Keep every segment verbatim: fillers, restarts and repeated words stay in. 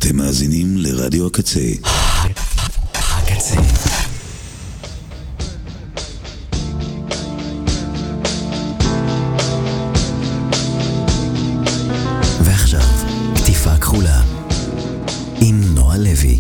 אתם מאזינים לרדיו הקצה. הקצה. ועכשיו, כתיפה כחולה עם נועה לוי.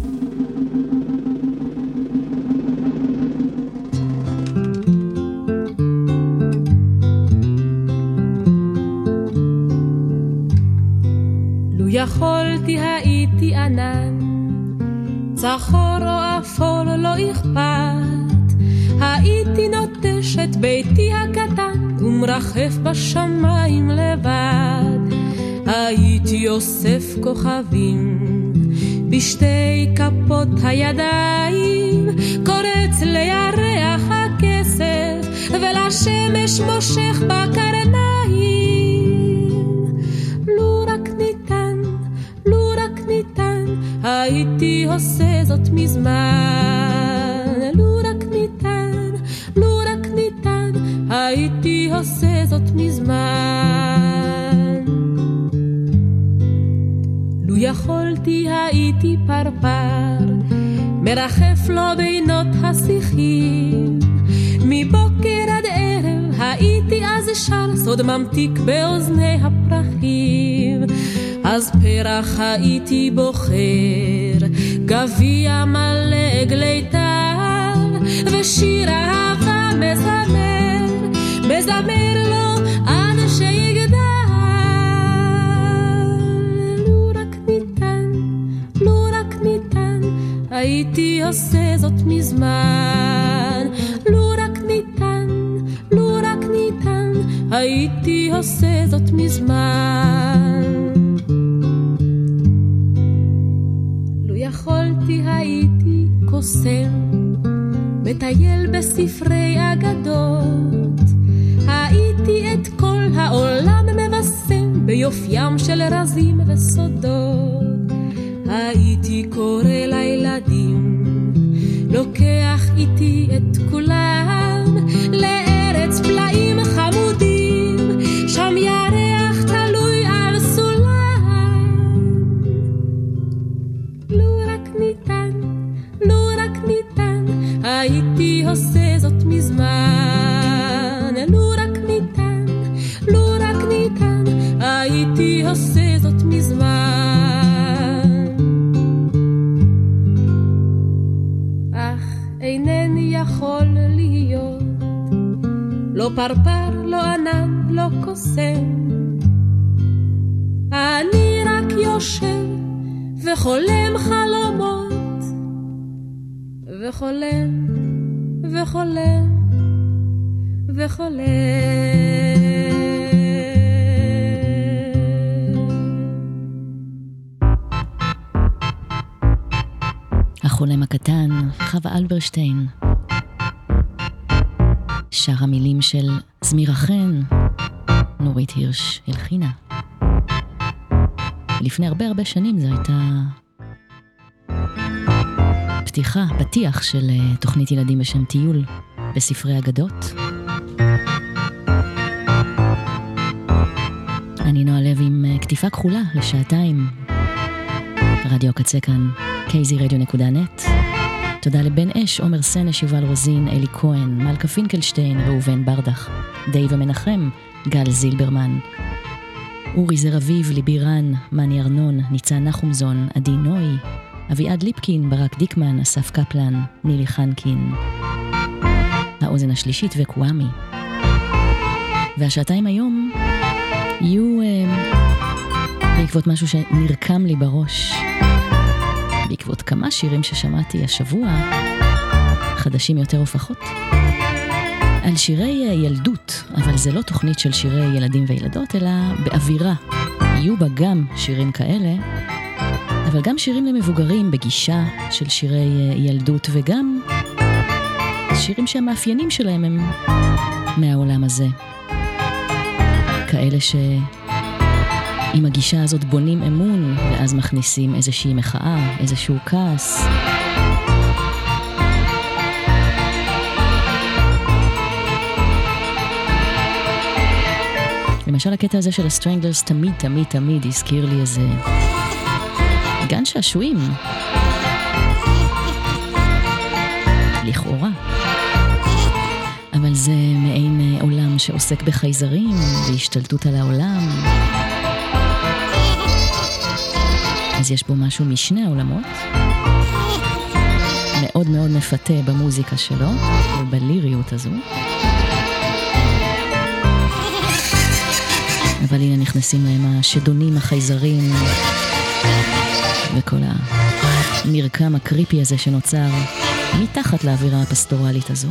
יכולתי הייתי ענן, צחור או אפור לא אכפת, הייתי נוטש את ביתי הקטן ומרחף בשמיים לבד, הייתי אוסף כוכבים בשתי כפות הידיים, קורץ לירח הכסף ולשמש מושך בקרניים. הייתי עושה זאת מזמן, לו רק ניתן, לו רק ניתן, הייתי עושה זאת מזמן. לו יכולתי הייתי פרפר, מרחף לו בינות השיחים, מבוקר עד ערב הייתי אז שר סוד ממתיק באוזני הפרחים. אז פרח הייתי בוחר, גביע מלא גלי טל, ושיר אהבה מזמר, מזמר לו עד שיגדל. לו רק ניתן, לו רק ניתן, הייתי עושה זאת מזמן. לו רק ניתן, לו רק ניתן, הייתי עושה זאת מזמן. יכולתי הייתי קוסם, מטייל בספרי אגדות, הייתי את כל העולם מבשם ביופיים של רזים וסודות, הייתי קורא לילדים, לוקח איתי את כולם לארץ פלאים חמודים, שם ירח תלוי על סולם. הייתי עושה זאת מזמן, לו רק ניתן, לו רק ניתן, הייתי עושה זאת מזמן. אך אינני יכול להיות, לא פרפר, לא ענן, לא קוסם, אני רק יושב וחולם חלומות, וחולם, וחולם, וחולם. החולם הקטן, חווה אלברשטיין. שר המילים של זמירה חן, נורית הירש הלחינה. לפני הרבה הרבה שנים זו הייתה פתיחה, פתיח של תוכנית ילדים בשם טיול בספרי אגדות. אני נועה לוי עם כתיפה כחולה לשעתיים. רדיו הקצה כאן, קי זי רדיו נקודה נט. תודה לבן אש, עומר סנש, יובל רוזין, אלי כהן, מלכה פינקלשטיין, ראובן ברדך, די ומנחם, גל זילברמן, אורי זר אביב, ליבי רן, מני ארנון, ניצן נחומזון, עדי נוי, אביעד ליפקין, ברק דיקמן, אסף קפלן, נילי חנקין, האוזן השלישית וקוואמי. והשעתיים היום יהיו אה, בעקבות משהו שנרקם לי בראש, בעקבות כמה שירים ששמעתי השבוע, חדשים יותר או פחות, על שירי ילדות, אבל זה לא תוכנית של שירי ילדים וילדות, אלא באווירה. יהיו בה גם שירים כאלה, אבל גם שירים למבוגרים בגישה של שירי ילדות, וגם שירים שהמאפיינים שלהם הם מהעולם הזה. כאלה שעם הגישה הזאת בונים אמון, ואז מכניסים איזושהי מחאה, איזשהו כעס. למשל הקטע הזה של הסטרנגלרס תמיד תמיד תמיד הזכיר לי איזה גן שעשועים. לכאורה. אבל זה מעין עולם שעוסק בחייזרים והשתלטות על העולם. אז יש בו משהו משני העולמות. מאוד מאוד מפתה במוזיקה שלו ובליריות הזו. אבל הנה נכנסים להם השדונים, החייזרים וכל המרקם הקריפי הזה שנוצר מתחת לאווירה הפסטורלית הזו.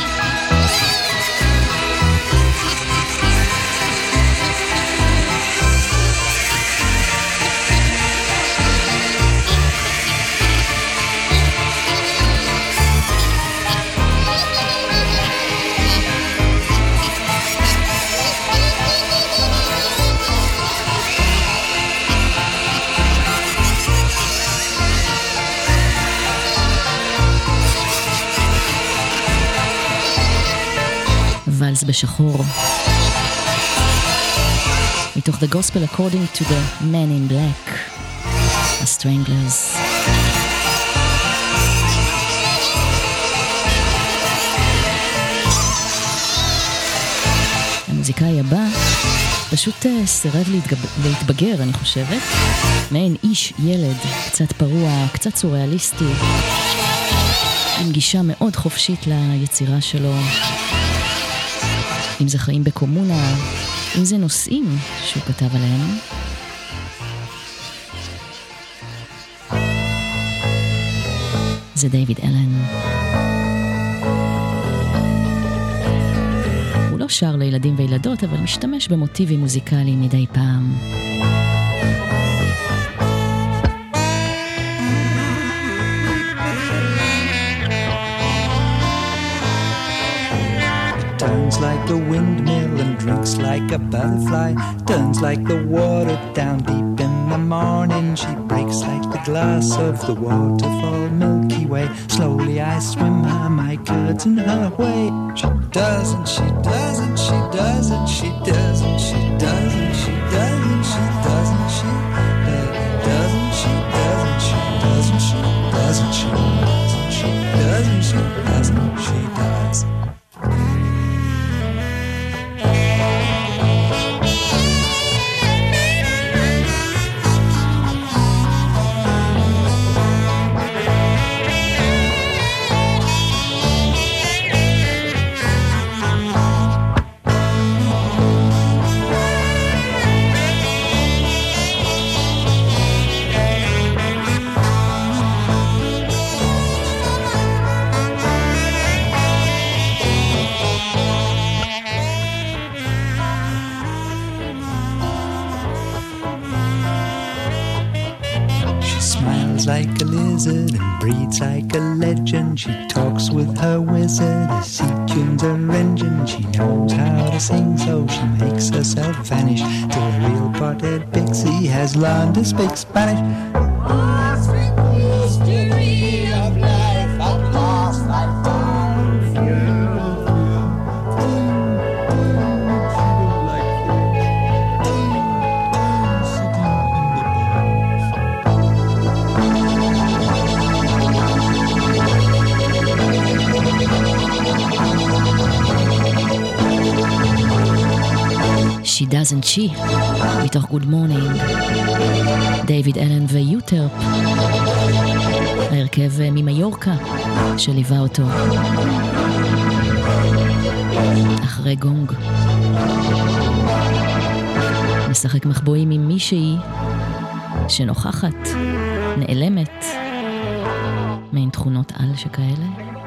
ולס בשחור מתוך The Gospel According to the Men in Black, The Stranglers. המוזיקאי הבא פשוט סירב להתגב... להתבגר, אני חושבת. מעין איש ילד, קצת פרוע, קצת סוריאליסטי, עם גישה מאוד חופשית ליצירה שלו. אם זה חיים בקומונה, אם זה נושאים שהוא כתב עליהם. זה דיוויד אלן. הוא לא שר לילדים וילדות, אבל משתמש במוטיבים מוזיקליים מדי פעם. Turns like a windmill and drinks like a butterfly. Turns like the water down deep in the morning. She breaks like the glass of the waterfall Milky Way. Slowly I swim her, my curds in her way. She doesn't, she doesn't, she doesn't, she doesn't, she doesn't, she doesn't, she doesn't, she doesn't, she doesn't, she doesn't, she doesn't, she doesn't, she doesn't, she doesn't, she does. Like a lizard and breathes like a legend. She talks with her wizard as she tunes her engine. She knows how to sing, so she makes herself vanish till a real potted pixie has learned to speak Spanish. Oh, sweet mystery of life, at last I found you. She Doesn't She, מתוך Good Morning, דיוויד אלן ויוטרפ, ההרכב ממיורקה שליווה אותו אחרי גונג. משחק מחבואים עם מישהי שנוכחת, נעלמת, מעין תכונות על שכאלה.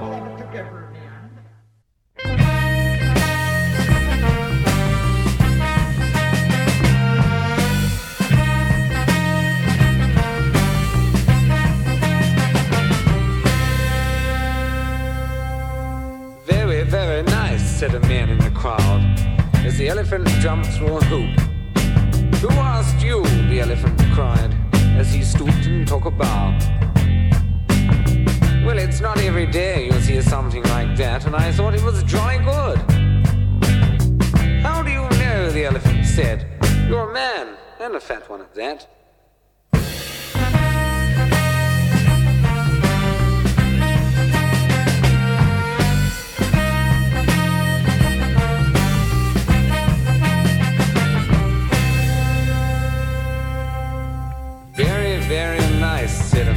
Said a man in the crowd as the elephant jumped through a hoop. Who asked you? The elephant cried as he stooped and took a bow. Well, it's not every day you'll see something like that, and I thought it was jolly good. How do you know? The elephant said. You're a man, and a fat one at that.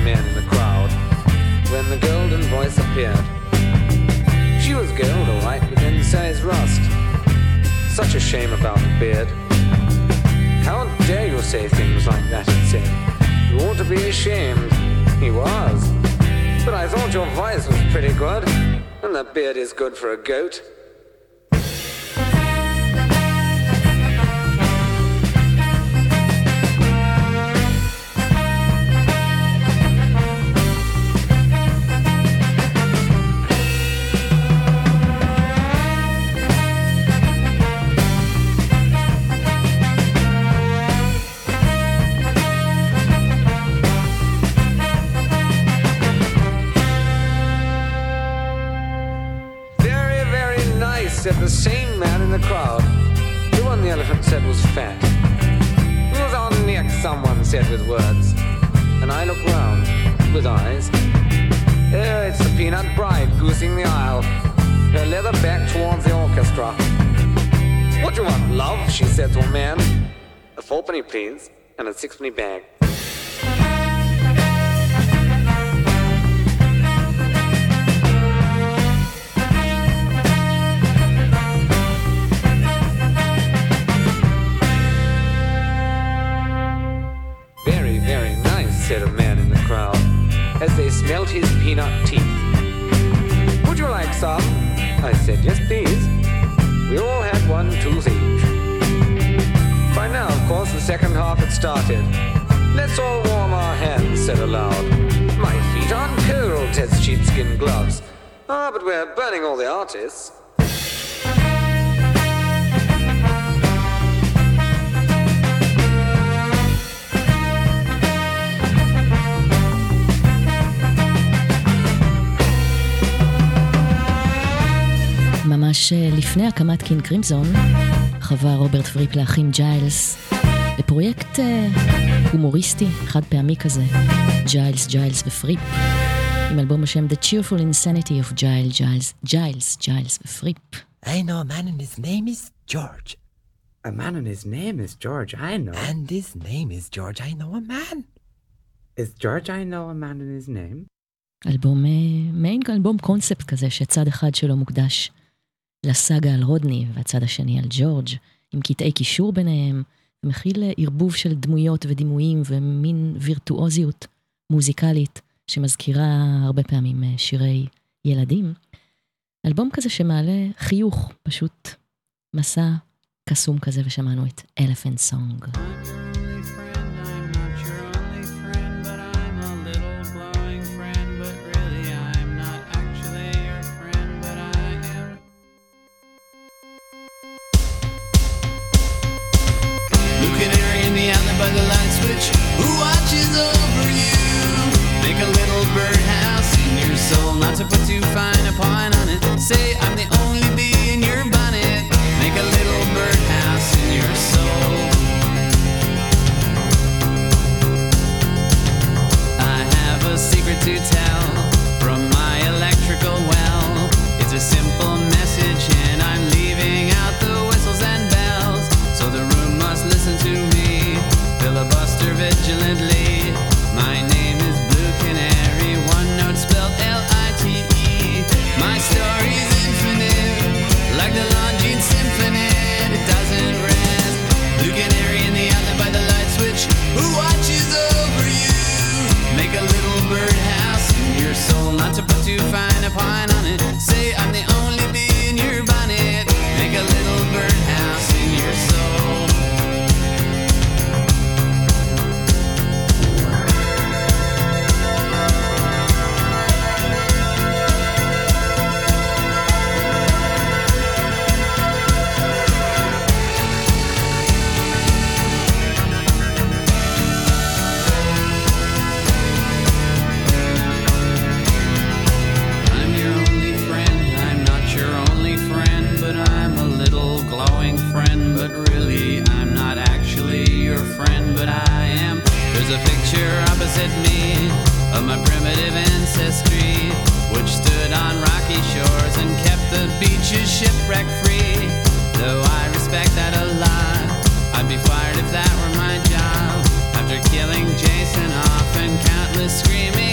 man in the crowd when the golden voice appeared. She was gold, all right, but then size rust. Such a shame about the beard. How dare you say things like that, it said. You ought to be ashamed. He was. But I thought your voice was pretty good, and the beard is good for a goat. Said the same man in the crowd. The one the elephant said was fat. He was on neck, someone said with words. And I looked round with eyes. Oh, it's the peanut bride goosing the aisle, her leather back towards the orchestra. What do you want, love? She said to a man. A fourpenny, please, and a sixpenny bag. Very, very nice, said a man in the crowd, as they smelt his peanut teeth. Would you like some? I said, yes, please. We all had one tooth each. By now, of course, the second half had started. Let's all warm our hands, said aloud. My feet aren't cold, says sheepskin gloves. Ah, but we're burning all the artists. ממש לפני הקמת קינג קרימזון חווה רוברט פריפ לאחים ג'יילס בפרויקט הומוריסטי חד פעמי כזה, ג'יילס, ג'יילס ופריפ, עם אלבום בשם The Cheerful Insanity of Giles, Giles, Giles, Giles ופריפ. I know a man and his name is George. A man and his name is George, I know. And his name is George, I know a man. Is George, I know a man and his name? אלבום, מעין אלבום קונספט כזה שצד אחד שלו מוקדש לסאגה על רודני והצד השני על ג'ורג', עם קטעי קישור ביניהם, ומכיל ערבוב של דמויות ודימויים ומין וירטואוזיות מוזיקלית שמזכירה הרבה פעמים שירי ילדים. אלבום כזה שמעלה חיוך, פשוט מסע קסום כזה, ושמענו את Elephant Song. By the light switch, who watches over you? Make a little birdhouse in your soul, not to put too fine a point on it. Say I'm the only bee in your bonnet. Make a little birdhouse in your soul. I have a secret to tell from my electrical well. It's a simple message and I'm leaving out the whistles and bells, so the room must listen to me. Filibuster vigilantly. My name is Blue Canary, one note spelled L I T E. My story's infinite, like the Longines Symphony. It doesn't rest. Blue Canary in the outlet by the light switch, who watches over you? Make a little birdhouse in your soul, not to put too fine a point on it. Say I'm the only bee in your bonnet. Make a little birdhouse in your soul. There's a picture opposite me of my primitive ancestry, which stood on rocky shores and kept the beaches shipwreck free. Though I respect that a lot, I'd be fired if that were my job. After killing Jason off and countless screaming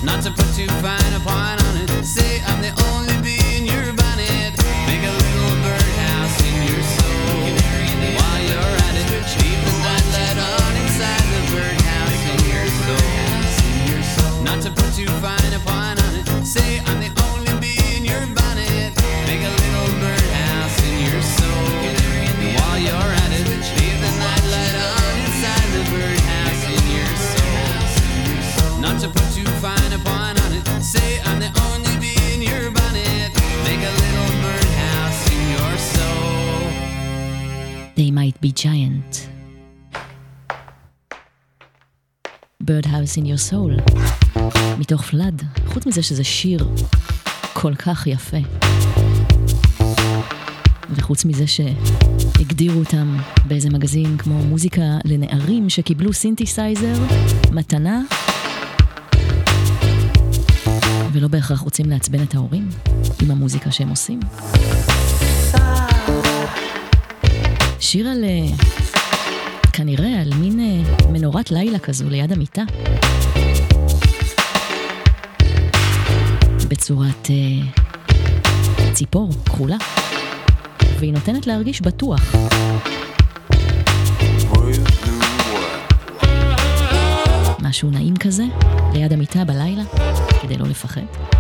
not to put too fine a point on it. Say I'm the only bee in your bonnet. Make a little birdhouse in your soul. While you're at it, leave the nightlight on inside the birdhouse in your soul. Not to put too fine a point on it. Say I'm the only bee in your bonnet. Make a little birdhouse in your soul. While you're at it, leave the nightlight on inside the birdhouse in your soul. Not to put too fine a point on it. Say I'm the only bee in your bonnet. Make a little birdhouse in your soul. They might be giant. Birdhouse in your soul. מתוך פלאד. חוץ מזה שזה שיר כל כך יפה. וחוץ מזה שהגדירו אותם באיזה מגזין כמו מוזיקה לנערים שקיבלו סינתסייזר, מתנה, ולא בהכרח רוצים לעצבן את ההורים עם המוזיקה שהם עושים. שיר על, כנראה על מין מנורת לילה כזו ליד המיטה. בצורת ציפור כחולה. והיא נותנת להרגיש בטוח. משהו נעים כזה, ליד המיטה בלילה, כדי לא לפחד.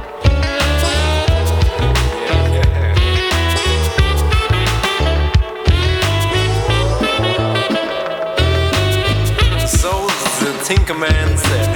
So the Tinkerman said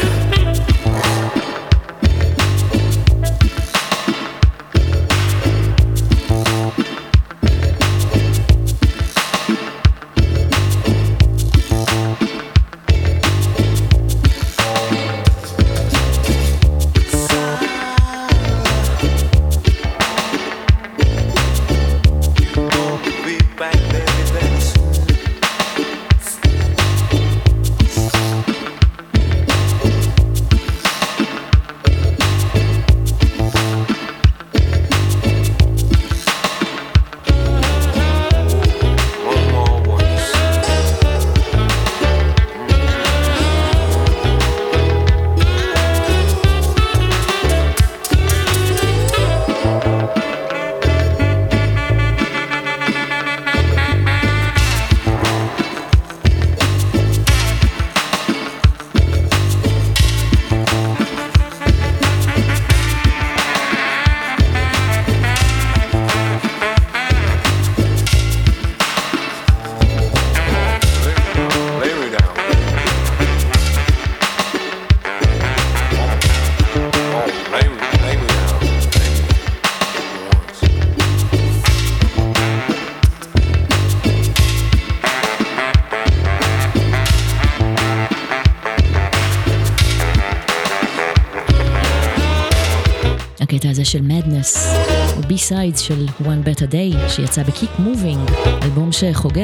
הקטע הזה של Madness הוא בי-סיידס של One Better Day שיצא ב-Keep Moving, אלבום שחוגג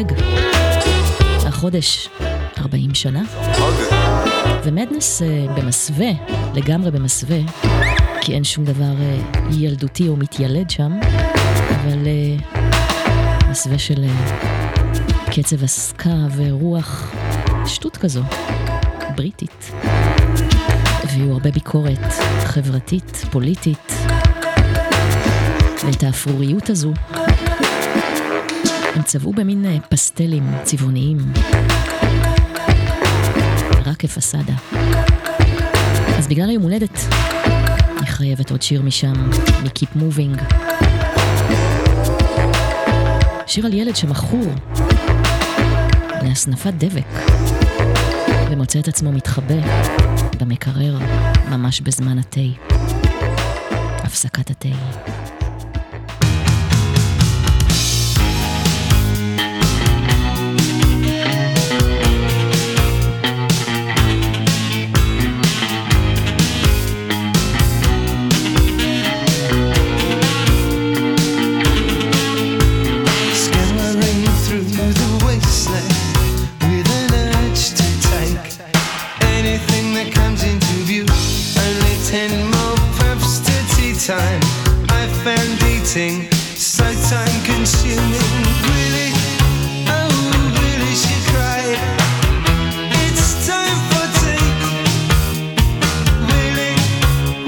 החודש ארבעים שנה. ו-Madness uh, במסווה, לגמרי במסווה, כי אין שום דבר uh, ילדותי או מתיילד שם, אבל uh, מסווה של uh, קצב הסקה ורוח שטות כזו, בריטית. והיו הרבה ביקורת חברתית, פוליטית, ואת האפרוריות הזו הם צבעו במין פסטלים צבעוניים, רק כפסדה. אז בגלל היום הולדת אני חייבת עוד שיר משם, מ-Keep Moving, שיר על ילד שמכור להסנפת דבק ומוצא את עצמו מתחבא במקרר ממש בזמן התי, הפסקת התי. Time I found eating so time consuming. Really, oh really, she cried. It's time for tea. Really,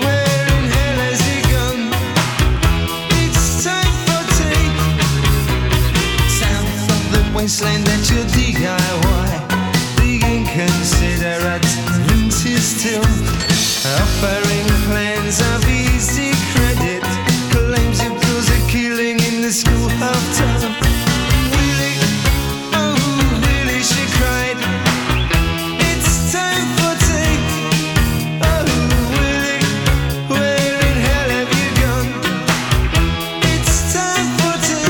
offering plans of easy credit, claims it was a killing in the school half term. Willie, oh Willie, she cried, it's time for tea. Oh Willie, where in hell have you gone? It's time for tea.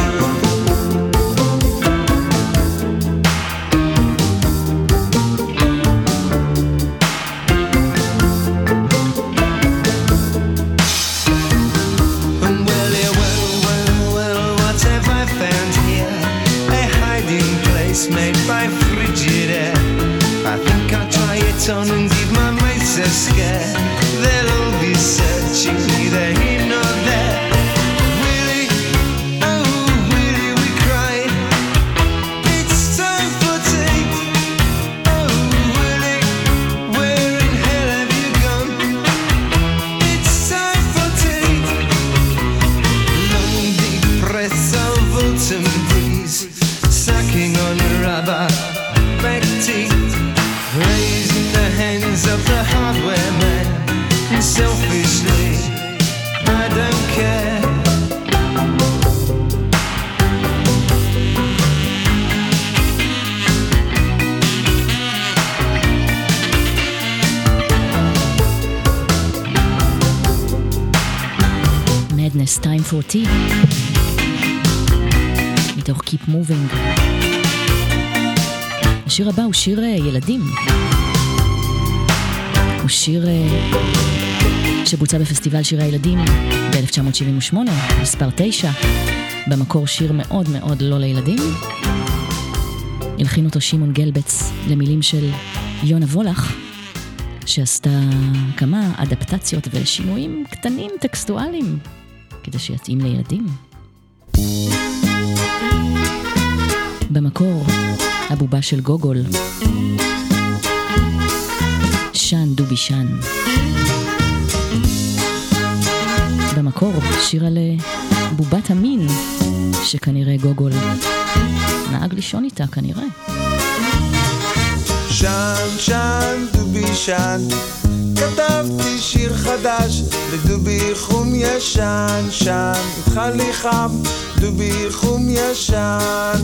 Well, yeah, well, well, well, what have I found here? A hiding place made by Frigidaire. I think I'll try it on and give my mates a scare. They'll all be searching neither here nor there. Willie, oh Willie, we cried, it's time for tea. Oh Willie, where in hell have you gone? It's time for tea. Long deep breaths of autumn breeze, sucking on rubber back teeth, raising the hands of the hardware man. Selfishly, I don't care. Madness, Time for Tea. מתוך Keep Moving. השיר הבא הוא שיר ילדים. הוא שיר שבוצע בפסטיבל שירי הילדים ב-אלף תשע מאות שבעים ושמונה, מספר תשע, במקור שיר מאוד מאוד לא לילדים. הלחין אותו שמעון גלבץ למילים של יונה וולך, שעשתה כמה אדפטציות ושינויים קטנים טקסטואליים כדי שיתאים לילדים. במקור הבובה של גוגול, שן דובי שן. במקור שיר על בובת המין שכנראה גוגול נהג לישון איתה כנראה. שן שן דובי שן, כתבתי שיר חדש לדובי חום ישן. שן איתך לי חם דובי חום ישן.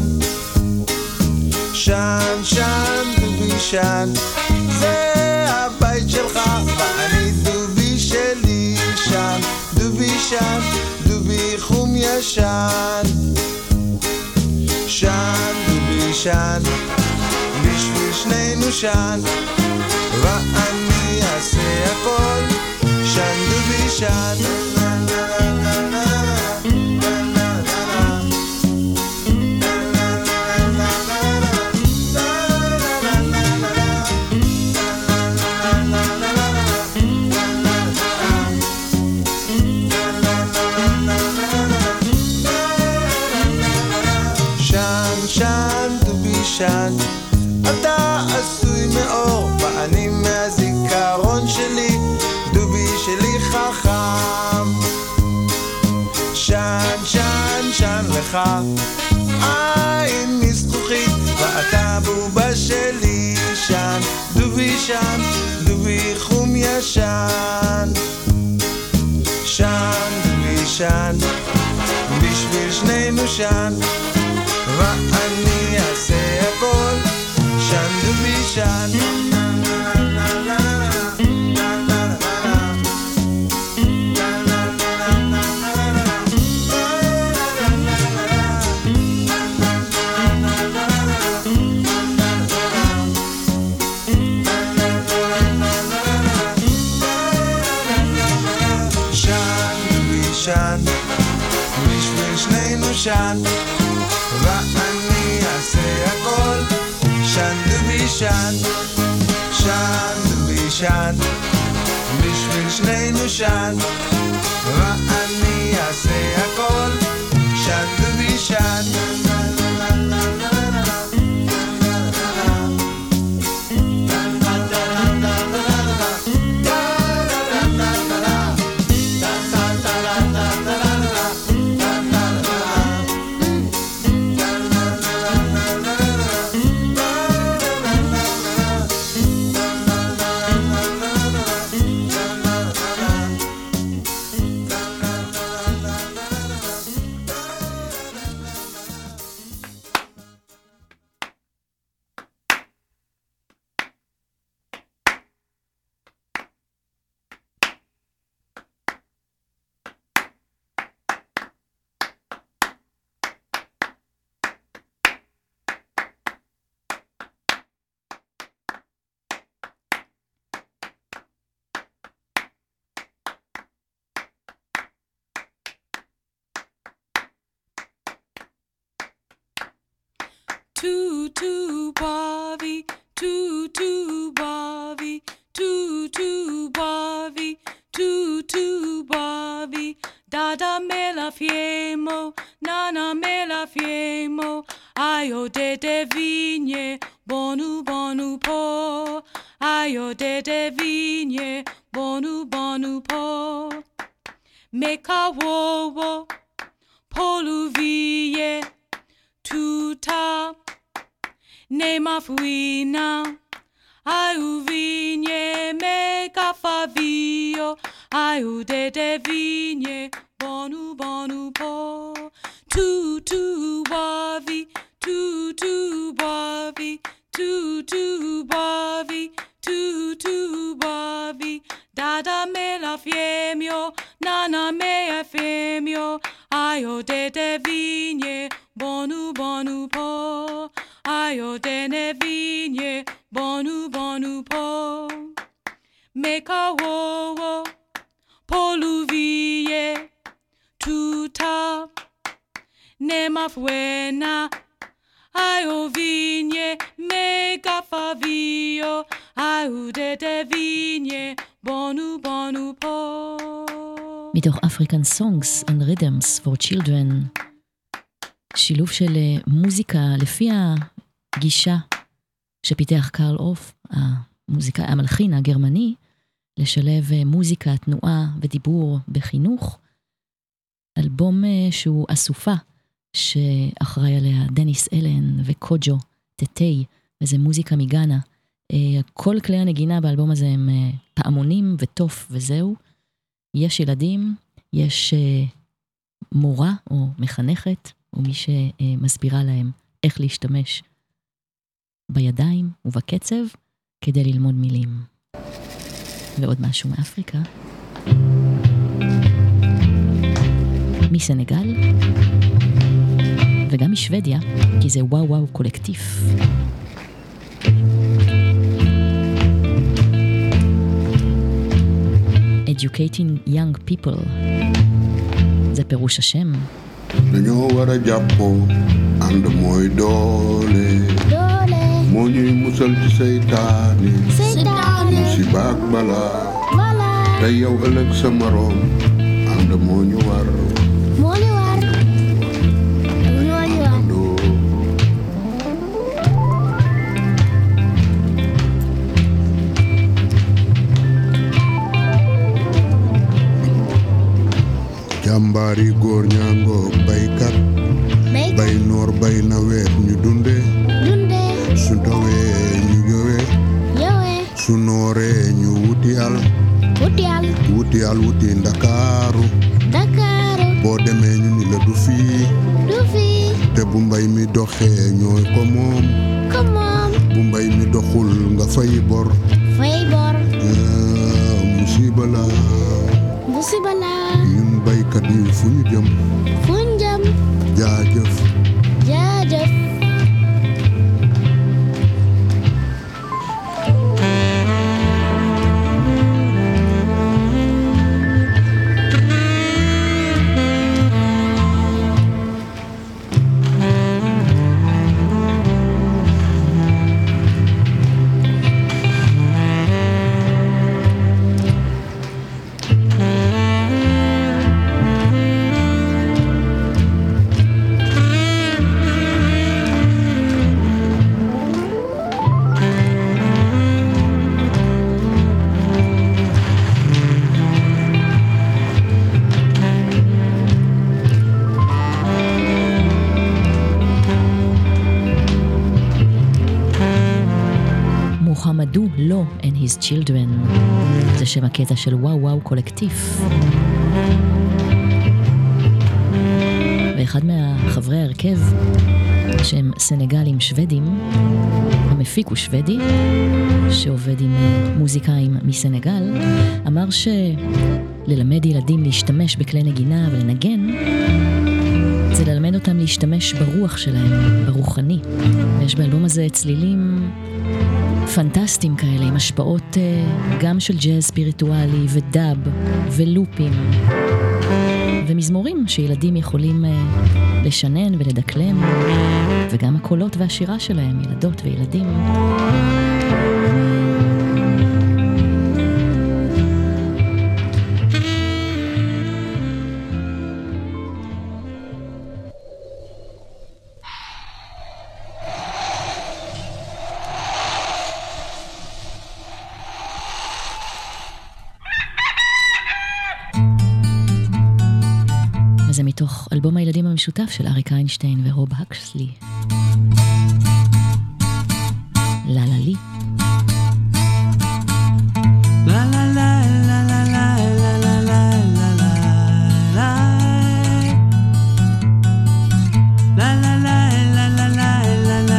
שן שן דובי שן, זה הבית שלך ואני דובי שלי. שן דובי שן דובי חום ישן. שן דובי שן, בשביל שנינו שן, ואני אעשה הכל. שן דובי שן. שן, אתה עשוי מאור ואני מהזיכרון שלי, דובי שלי חכם. שן שן שן לך עין מזכוכית ואתה בובה שלי. שן דובי שן דובי חום ישן. שן דובי שן, בשביל שנינו שן, ואני אעשה הכל. שן דובי שן. שן, בשביל שנינו שן, ואני אעשה הכל. שן דובי שן, שן דובי שן, בשביל שנינו שן, ואני אעשה הכל. שן דובי שן. bovi, tu tu bovi, tu tu bovi, tu tu bovi. Dada me la fiemo, nana me la fiemo. Ayo de de vigne, bonu bonu po. Ayo de de vigne, bonu bonu po. Meka wo wo, polu vie, tuta, ne ma fuina. Ayu vigne, meka favio. Ayu de de vigne, bonu bonu po. Tu tu bovi, tu tu bovi, tu tu bovi, tu tu bovi. Dada me la fiemio, nana me a fiemio. Ayo de de vigne, bonu bonu po. Ayo de ne vigne, bonu bonu po. Meka wo wo, polu vie, tuta. Ne ma fuena, ayo vigne, mega favio, ayo de de vigne, bonu bonu po. מתוך African Songs and Rhythms for Children, שילוב של מוזיקה לפי הגישה שפיתח קרל אוף, המוזיקה, המלחין הגרמני, לשלב מוזיקה, תנועה ודיבור בחינוך, אלבום שהוא אסופה, שאחראי עליה דניס אלן וקוג'ו טטי, וזה מוזיקה מגאנה. כל כלי הנגינה באלבום הזה הם פעמונים וטוף וזהו. יש ילדים, יש מורה או מחנכת, או מי שמסבירה להם איך להשתמש בידיים ובקצב כדי ללמוד מילים. ועוד משהו מאפריקה. מסנגל. וגם משוודיה, כי זה וואו וואו קולקטיף. Educating young people. זה פירוש השם. Dañoo war a jàppoo ànd mooy doole. doole. moo ñuy musal ci seytaane. seytaane. musiba ak balaa. balaa. te yow ëllëg sa moroom ànd moo ñu war. moo ñu war. moo ñu war. jàmbaari góor ñaangoo baykat. bay noor bay nawet ñu dunde. dunde. su dowee ñu jowe. jowe. su nooree ñu wuti al. wuti al. wuti al wuti ndakaaru. ndakaaru. boo demee ñu ni la du fii. du fii. te bu mbay mi doxee ñooy ko moom. ko moom. bu mbay mi doxul nga fay bor. fay bor. musiba la. musiba la. ñun baykat yi fu ñu jëm. fu ñu jëm. jaajëf. jaajëf. מוחמדו לו and his children. זה שם הקטע של וואו וואו קולקטיף. ואחד מהחברי ההרכב, שהם סנגלים שוודים, המפיק הוא שוודי, שעובד עם מוזיקאים מסנגל, אמר שללמד ילדים להשתמש בכלי נגינה ולנגן, זה ללמד אותם להשתמש ברוח שלהם, ברוחני. ויש באלבום הזה צלילים פנטסטיים כאלה, עם השפעות גם של ג'אז ספיריטואלי ודאב ולופים. ומזמורים שילדים יכולים לשנן ולדקלם, וגם הקולות והשירה שלהם, ילדות וילדים. זה מתוך אלבום הילדים המשותף של אריק איינשטיין ורוב הקסלי. לה לה לי. לה לה לה לה לה לה לה לה לה לה לה לה לה לה לה לה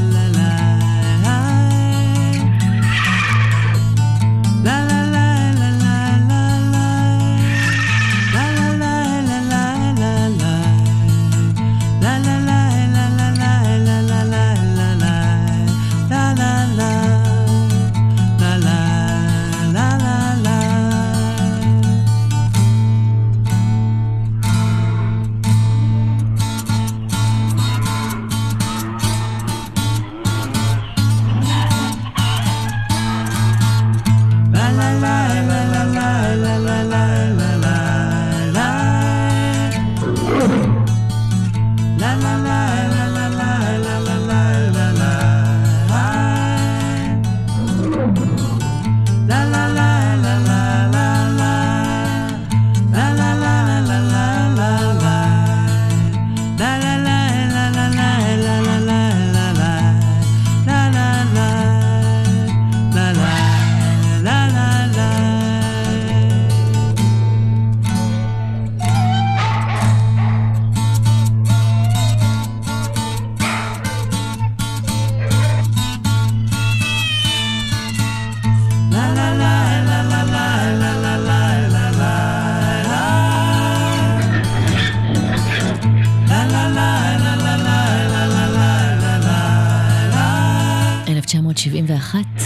שבעים ואחת,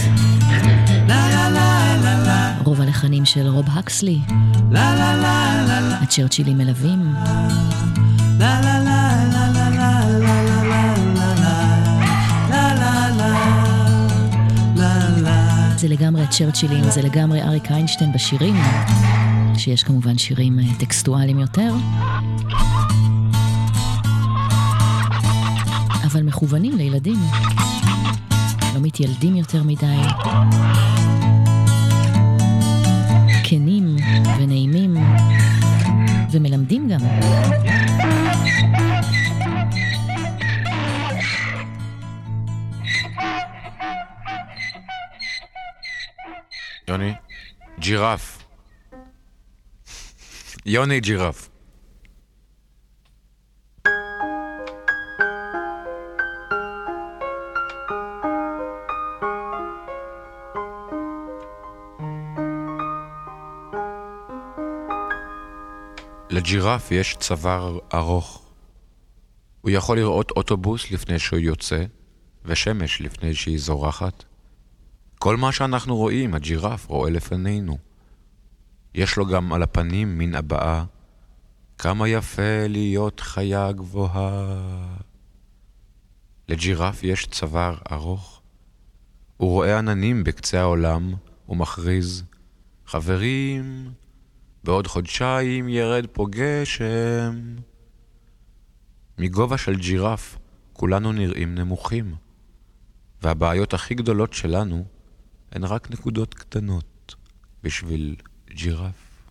רוב הלחנים של רוב הקסלי, הצ'רצ'ילים מלווים, זה לגמרי הצ'רצ'ילים, זה לגמרי אריק איינשטיין בשירים, שיש כמובן שירים טקסטואליים יותר, אבל מכוונים לילדים, לא מתילדים יותר מדי, כנים ונעימים ומלמדים גם. יוני, ג'ירף. יוני ג'ירף. לג'ירף יש צוואר ארוך. הוא יכול לראות אוטובוס לפני שהוא יוצא, ושמש לפני שהיא זורחת. כל מה שאנחנו רואים, הג'ירף רואה לפנינו. יש לו גם על הפנים מין הבאה, כמה יפה להיות חיה גבוהה. לג'ירף יש צוואר ארוך. הוא רואה עננים בקצה העולם ומכריז, חברים, בעוד חודשיים ירד פה גשם. מגובה של ג'ירף כולנו נראים נמוכים, והבעיות הכי גדולות שלנו הן רק נקודות קטנות בשביל ג'ירף.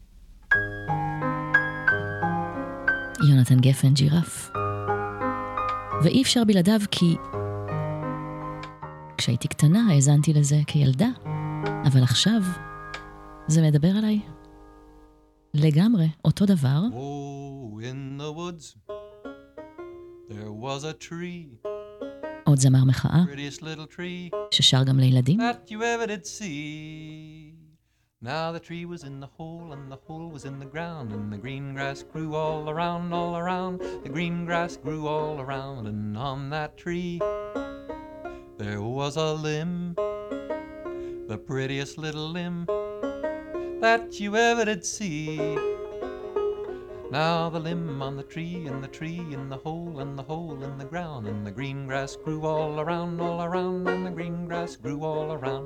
יונתן גפן, ג'ירף. ואי אפשר בלעדיו כי כשהייתי קטנה האזנתי לזה כילדה, אבל עכשיו זה מדבר עליי. לגמרי, אותו דבר. Oh, in the woods there was a tree. עוד זמר מחאה, Prettiest little tree ששר גם לילדים. that you ever did see. Now the tree was in the hole and the hole was in the ground and the green grass grew all around, all around. The green grass grew all around and on that tree there was a limb, the prettiest little limb that you ever did see. Now the limb on the tree, and the tree in the hole, and the hole in the ground, and the green grass grew all around, all around, and the green grass grew all around.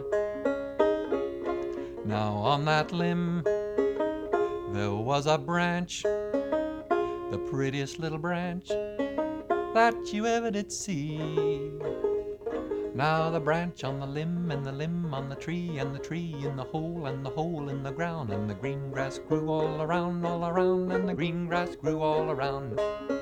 Now on that limb there was a branch, the prettiest little branch that you ever did see. Now the branch on the limb, and the limb on the tree, and the tree in the hole, and the hole in the ground, and the green grass grew all around, all around, and the green grass grew all around.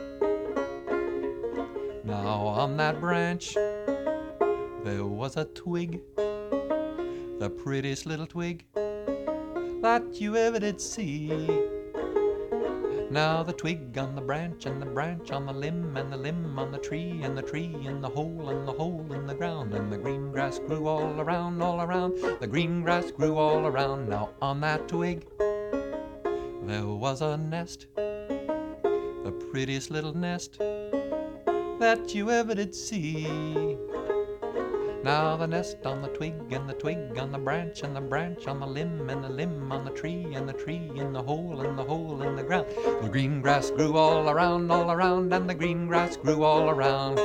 Now on that branch there was a twig, the prettiest little twig that you ever did see. Now the twig on the branch, and the branch on the limb, and the limb on the tree, and the tree in the hole, and the hole in the ground, and the green grass grew all around, all around, the green grass grew all around. Now on that twig there was a nest, the prettiest little nest that you ever did see. Now the nest on the twig, and the twig on the branch, and the branch on the limb, and the limb on the tree, and the tree in the hole, and the hole in the ground. The green grass grew all around, all around, and the green grass grew all around.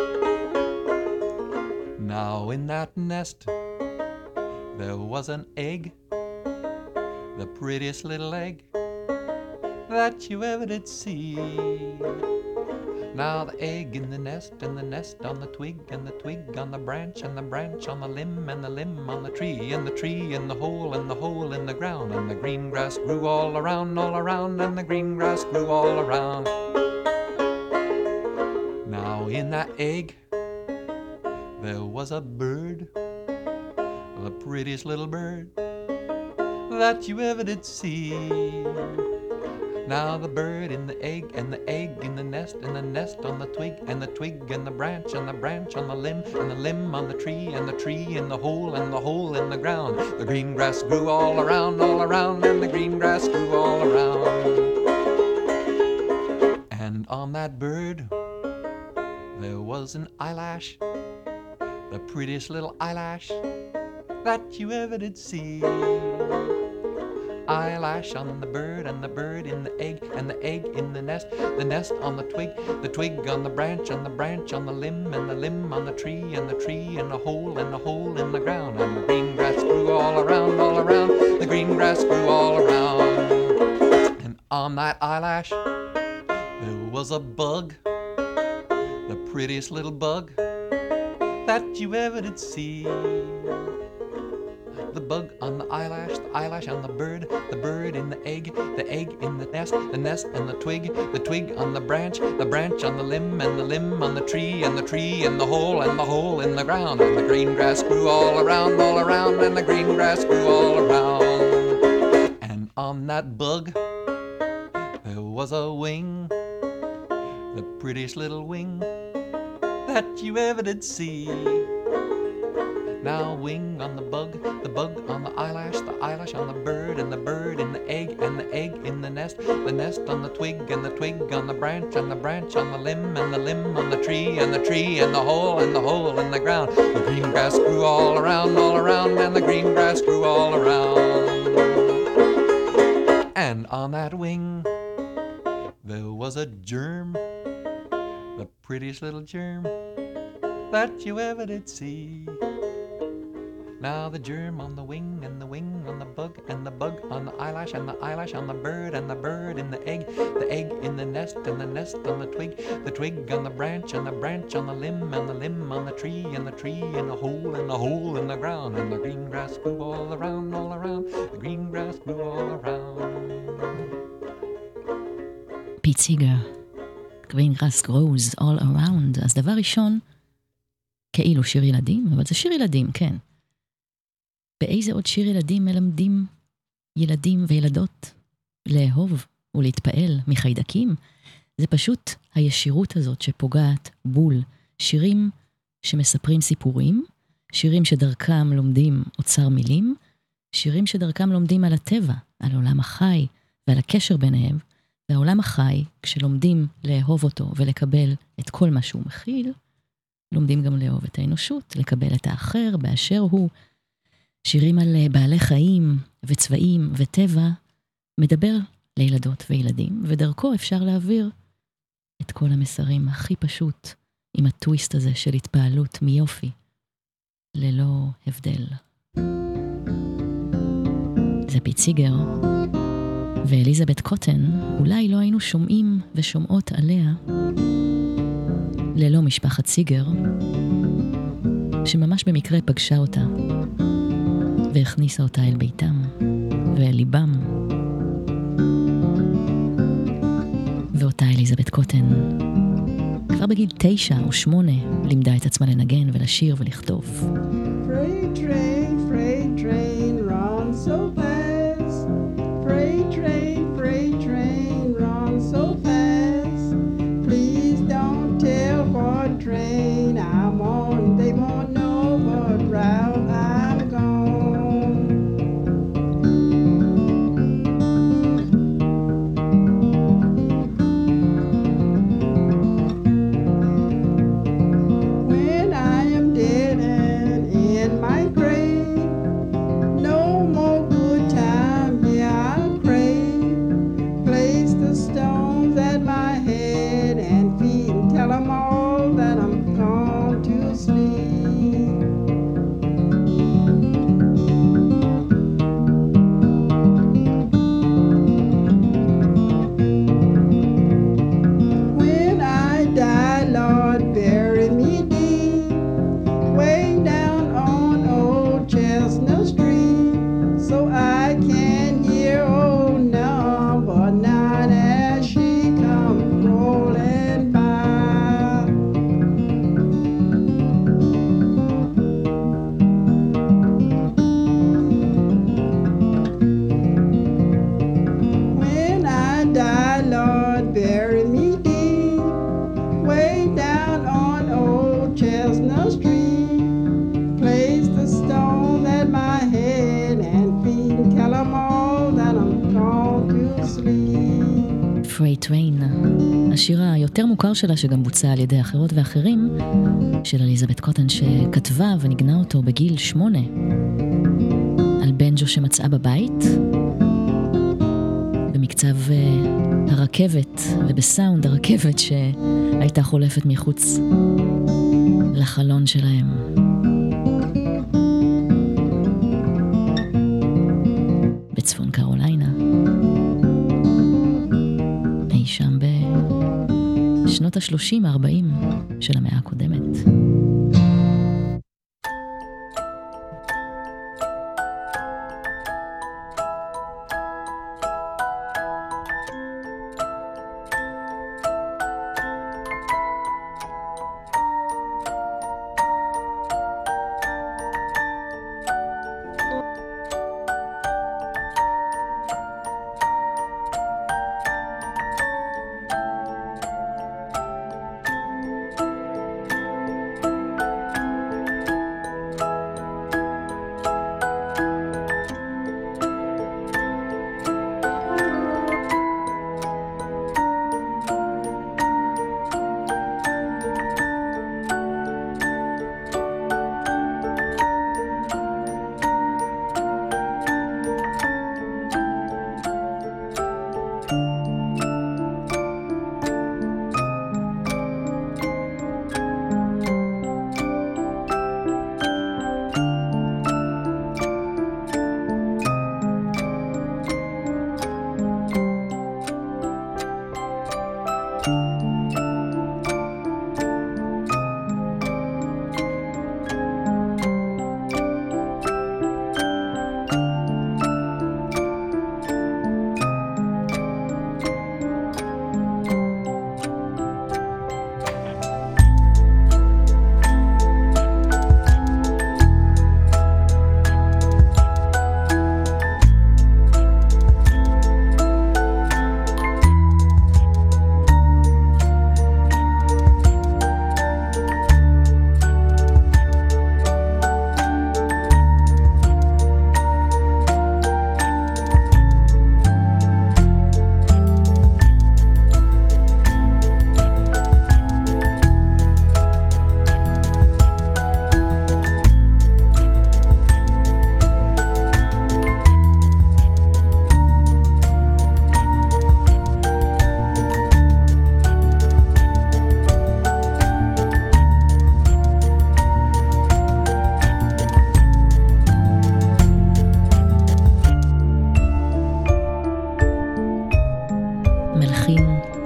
Now in that nest there was an egg, the prettiest little egg that you ever did see. Now the egg in the nest, and the nest on the twig, and the twig on the branch, and the branch on the limb, and the limb on the tree, and the tree in the hole, and the hole in the ground, and the green grass grew all around, all around, and the green grass grew all around. Now in that egg there was a bird, the prettiest little bird that you ever did see. Now the bird in the egg, and the egg in the nest, and the nest on the twig, and the twig and the branch, and the branch on the limb, and the limb on the tree, and the tree in the hole, and the hole in the ground. The green grass grew all around, all around, and the green grass grew all around. And on that bird there was an eyelash, the prettiest little eyelash that you ever did see. Eyelash on the bird, and the bird in the egg, and the egg in the nest, the nest on the twig, the twig on the branch, and the branch on the limb, and the limb on the tree, and the tree in the hole, and the hole in the ground. And the green grass grew all around, all around, the green grass grew all around. And on that eyelash there was a bug, the prettiest little bug that you ever did see. The bug on the eyelash, the eyelash on the bird, the bird in the egg, the egg in the nest, the nest and the twig, the twig on the branch, the branch on the limb, and the limb on the tree, and the tree in the hole, and the hole in the ground. And the green grass grew all around, all around, and the green grass grew all around. And on that bug there was a wing, the prettiest little wing that you ever did see. Now wing on the bug, the bug on the eyelash, the eyelash on the bird, and the bird in the egg, and the egg in the nest, the nest on the twig, and the twig on the branch, and the branch on the limb, and the limb on the tree, and the tree in the hole, and the hole in the ground. The green grass grew all around, all around, and the green grass grew all around. And on that wing there was a germ, the prettiest little germ that you ever did see. Now the germ on the wing, and the wing on the bug, and the bug on the eyelash, and the eyelash on the bird, and the bird in the egg, the egg in the nest, and the nest on the twig, the twig on the branch, and the branch on the limb, and the limb on the tree, and the tree in the hole, and the hole in the ground. And the green grass grew all around, all around, the green grass grew all around. פיט סיגר, Green Grass Grows All Around. אז דבר ראשון, כאילו שיר ילדים, אבל זה שיר ילדים, כן. באיזה עוד שיר ילדים מלמדים ילדים וילדות לאהוב ולהתפעל מחיידקים? זה פשוט הישירות הזאת שפוגעת בול. שירים שמספרים סיפורים, שירים שדרכם לומדים אוצר מילים, שירים שדרכם לומדים על הטבע, על עולם החי ועל הקשר ביניהם, והעולם החי, כשלומדים לאהוב אותו ולקבל את כל מה שהוא מכיל, לומדים גם לאהוב את האנושות, לקבל את האחר באשר הוא. שירים על בעלי חיים וצבעים וטבע, מדבר לילדות וילדים, ודרכו אפשר להעביר את כל המסרים הכי פשוט, עם הטוויסט הזה של התפעלות מיופי, ללא הבדל. זה פיט סיגר, ואליזבת קוטן, אולי לא היינו שומעים ושומעות עליה, ללא משפחת סיגר, שממש במקרה פגשה אותה, והכניסה אותה אל ביתם, ואל ליבם. ואותה אליזבת קוטן, כבר בגיל תשע או שמונה, לימדה את עצמה לנגן ולשיר ולכתוב. Freight train, freight train, run so fast. Freight train, freight train, run so fast. Please don't tell what train I'm on. They won't know what route I'm gone. When I am dead and in my grave, no more good time, yeah, I'll crave. Place the stones at my head and feet and tell them all that I'm gone to sleep. When I die, Lord, bury me deep, way down on old Chestnut Street, so I can hear old number nine as she comes rolling by. When I die, Lord, bury me deep, way down on old Chestnut Street. Place the stone at my head and feet and tell them all that I'm gone to sleep. Freight Train, השיר היותר מוכר שלה שגם בוצע על ידי אחרות ואחרים, של אליזבת קוטן שכתבה ונגנה אותו בגיל שמונה, על בנג'ו שמצאה בבית, במקצב אה, הרכבת ובסאונד הרכבת שהייתה חולפת מחוץ לחלון שלהם. בצפון קרוליינה, אי שם בשנות ה-שלושים ארבעים של המאה הקודמת.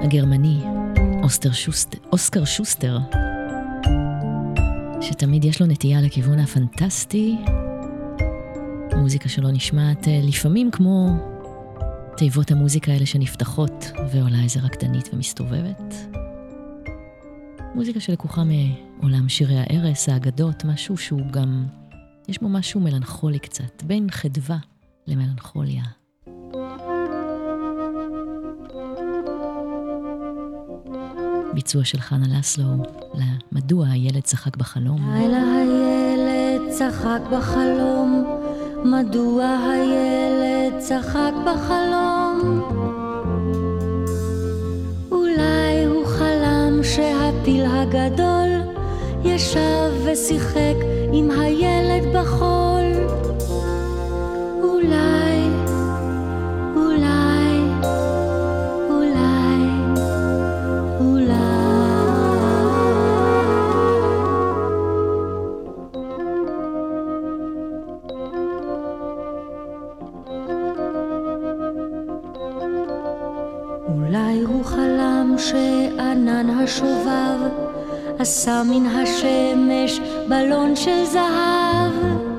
הגרמני, אוסטר שוסטר, אוסקר שוסטר, שתמיד יש לו נטייה לכיוון הפנטסטי. המוזיקה שלו נשמעת לפעמים כמו תיבות המוזיקה האלה שנפתחות ועולה איזה רקדנית ומסתובבת. מוזיקה שלקוחה מעולם שירי הערס, האגדות, משהו שהוא גם, יש בו משהו מלנכולי קצת, בין חדווה למלנכוליה. ביצוע של חנה לסלו, למדוע הילד צחק בחלום. לילה הילד צחק בחלום, מדוע הילד צחק בחלום? אולי הוא חלם שהפיל הגדול ישב ושיחק עם הילד בחול. אולי, אולי, אולי, אולי. אולי הוא חלם שענן השובב עשה מן השמש בלון של זהב,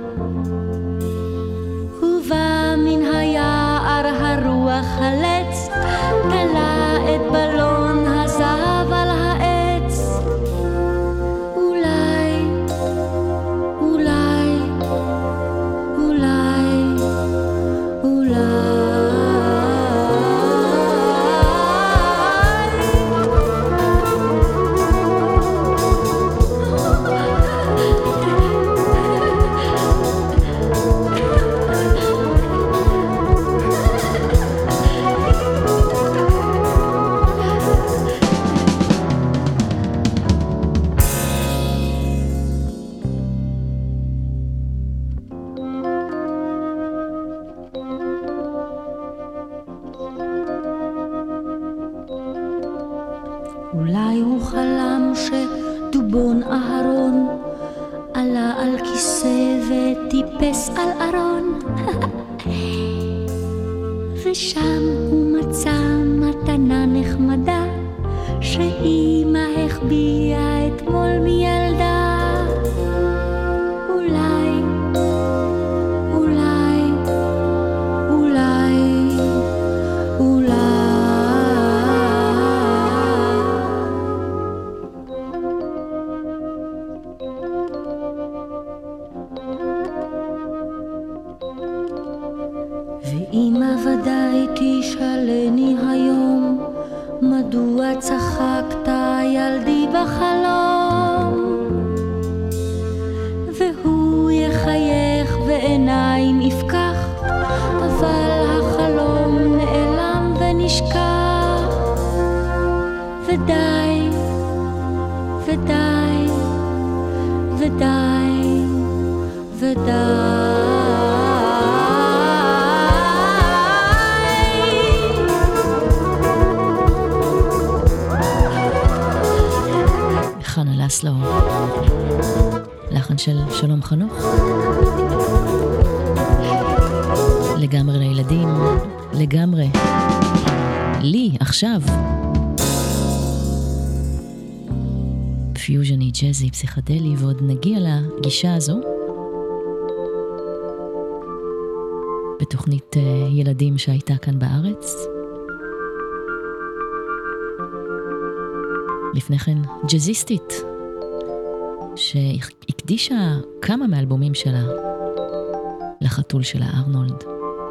ובא מן היער הרוח חלץ, תלה את בלון הזהב על העץ. אולי, אולי, אולי, אולי. אולי הוא חלם שדובון אהרון עלה על כיסא וטיפס על ארון, ושם הוא מצא מתנה נחמדה שאמא החביאה אתמול מילדה. אולי, אולי, אולי, אולי. ואמא ודאי תשאלני היום, מדוע צחקת ילדי בחלום? והוא יחייך ועיניים יפקח, אבל החלום נעלם ונשכח. ודי, ודי, ודי, ודי. חנה לסלו, לחן של שלום חנוך, לגמרי לילדים, לגמרי לי עכשיו. פיוז'ני, ג'זי, פסיכדלי, ועוד נגיע לגישה הזו בתוכנית ילדים שהייתה כאן בארץ. לפני כן ג'זיסטית שהקדישה כמה מאלבומים שלה לחתול שלה ארנולד.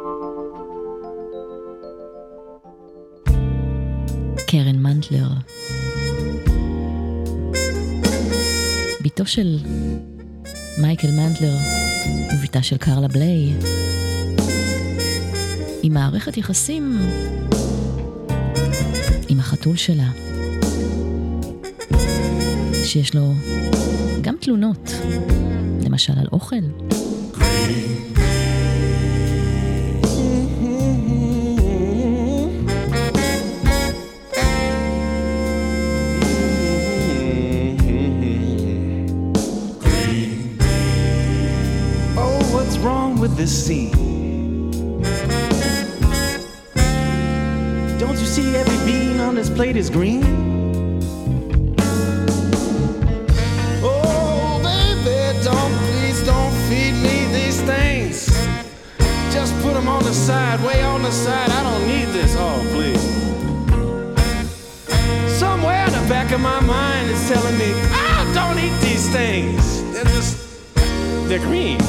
קרן מנטלר, ביתו של מייקל מנטלר וביתה של קרלה בליי, עם מערכת יחסים עם החתול שלה שיש לו גם תלונות, למשל על אוכל. Oh, what's wrong with this scene? Don't you see every bean on this plate is green? Oh, baby, don't, please don't feed me these things. Just put them on the side, way on the side. I don't need this. Oh, please. Somewhere in the back of my mind is telling me, oh, don't eat these things. They're just, they're green.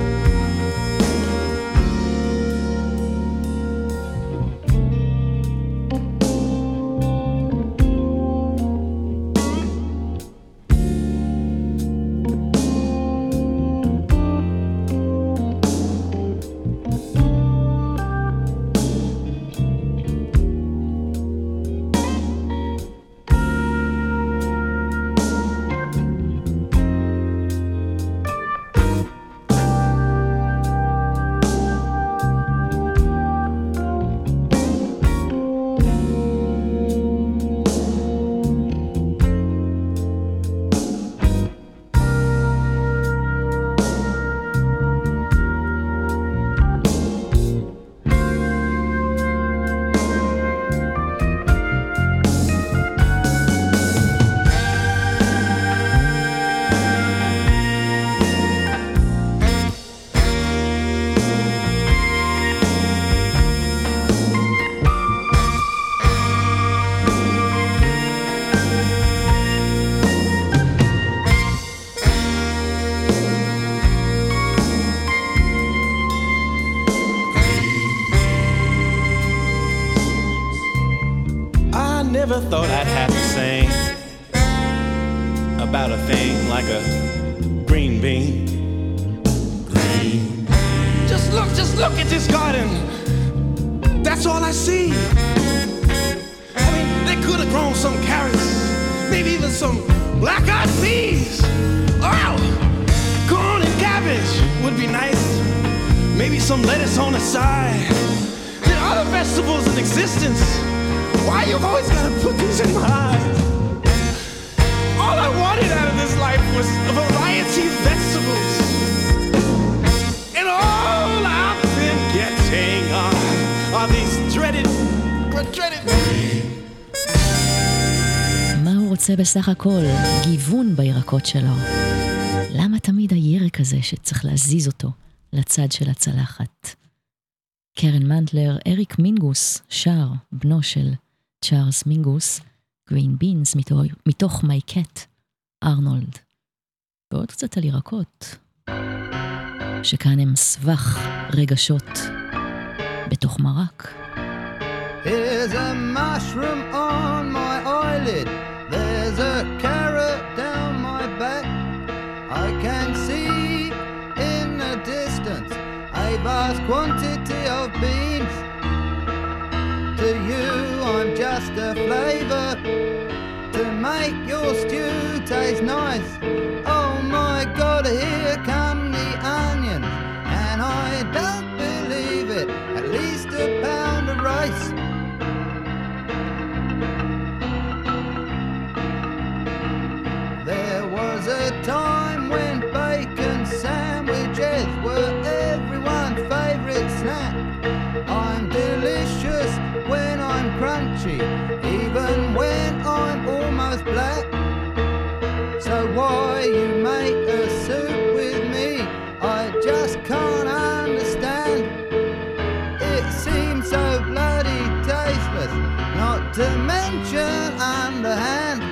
Never thought I'd have to sing about a thing like a green bean. Green. Just look, just look at this garden. That's all I see. I mean, they could have grown some carrots, maybe even some black-eyed peas. Oh, corn and cabbage would be nice. Maybe some lettuce on the side. There are other vegetables in existence. Why you've always got to put these in my eyes? All I wanted out of this life was a variety of vegetables. And all I've been getting are, are these dreaded, dreaded... מה הוא רוצה בסך הכל? גיוון בירקות שלו. למה תמיד הירק הזה שצריך להזיז אותו לצד של הצלחת? קרן מנטלר, אריק מינגוס, שר, בנו של צ'ארלס מינגוס, גרין בינס, מתוך, מתוך מי קט, ארנולד. ועוד קצת על ירקות, שכאן הם סבך רגשות בתוך מרק. There's a mushroom on my eyelid, there's a carrot down my back, I can see in the distance a vast quantity of beans. To you I'm just a flavor to make your stew taste nice. Oh my God, here come the onions, and I don't believe it, at least a pound of rice. There was a time when bacon sandwiches were everyone's favorite snack. I'm delicious when I'm crunchy, even when I'm almost black. So why you make a soup with me, I just can't understand. It seems so bloody tasteless, not to mention underhand.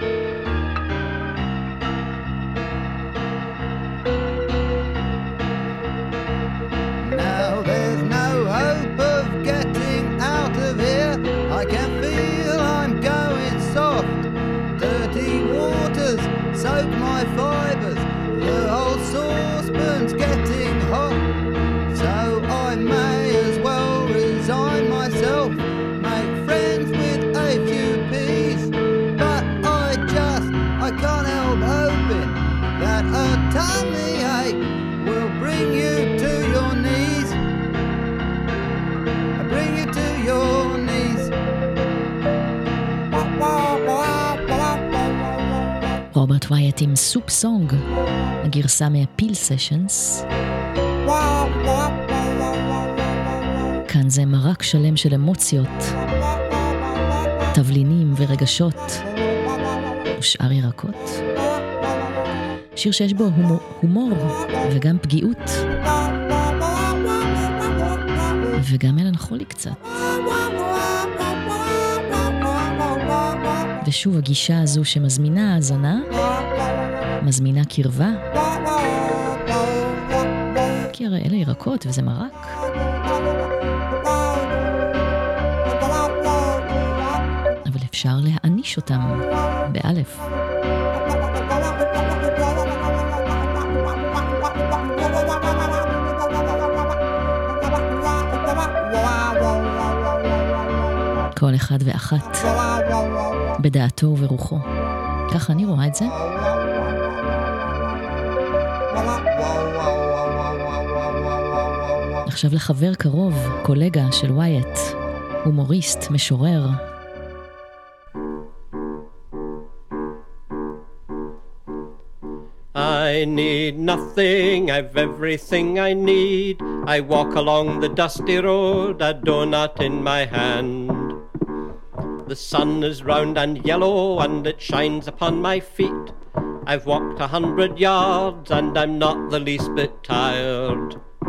Now there's no hope of getting out of here, I can feel I'm going soft. Dirty waters soak my fibres, the whole saucepan's getting hot. So I may as well resign myself, make friends with a few peas. But I just, I can't help hoping that a tummy ache will bring you to your knees. Bring you to your knees. רוברט ווייט עם סופ סונג, הגרסה מהפיל סשנס. כאן זה מרק שלם של אמוציות תבלינים ורגשות ושאר ירקות. שיר שיש בו הומור, הומור וגם פגיעות וגם מלנכולי קצת. ושוב הגישה הזו שמזמינה האזנה, מזמינה קרבה, כי הרי אלה ירקות וזה מרק. אבל אפשר להעניש אותם באלף. כל אחד ואחת בדעתו וברוחו. ככה אני רואה את זה. עכשיו לחבר קרוב, קולגה של ווייט, הומוריסט, משורר. I need nothing, I've everything I need. I walk along the dusty road, a donut in my hand. The sun is round and yellow and it shines upon my feet. I've walked a hundred yards and I'm not the least bit tired.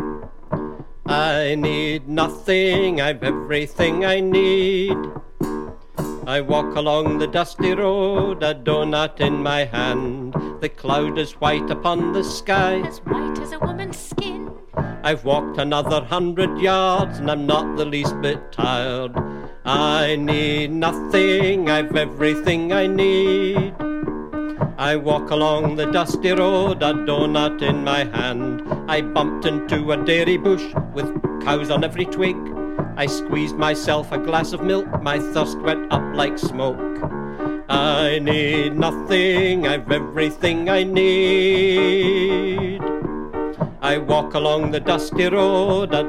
I need nothing, I've everything I need. I walk along the dusty road, a donut in my hand. The cloud is white upon the sky, as white as a woman's skin. I've walked another hundred yards and I'm not the least bit tired. I need nothing, I've everything I need. I walk along the dusty road, a donut in my hand. I bumped into a dairy bush with cows on every twig. I squeezed myself a glass of milk, my thirst went up like smoke. I need nothing, I've everything I need. I walk along the dusty road, a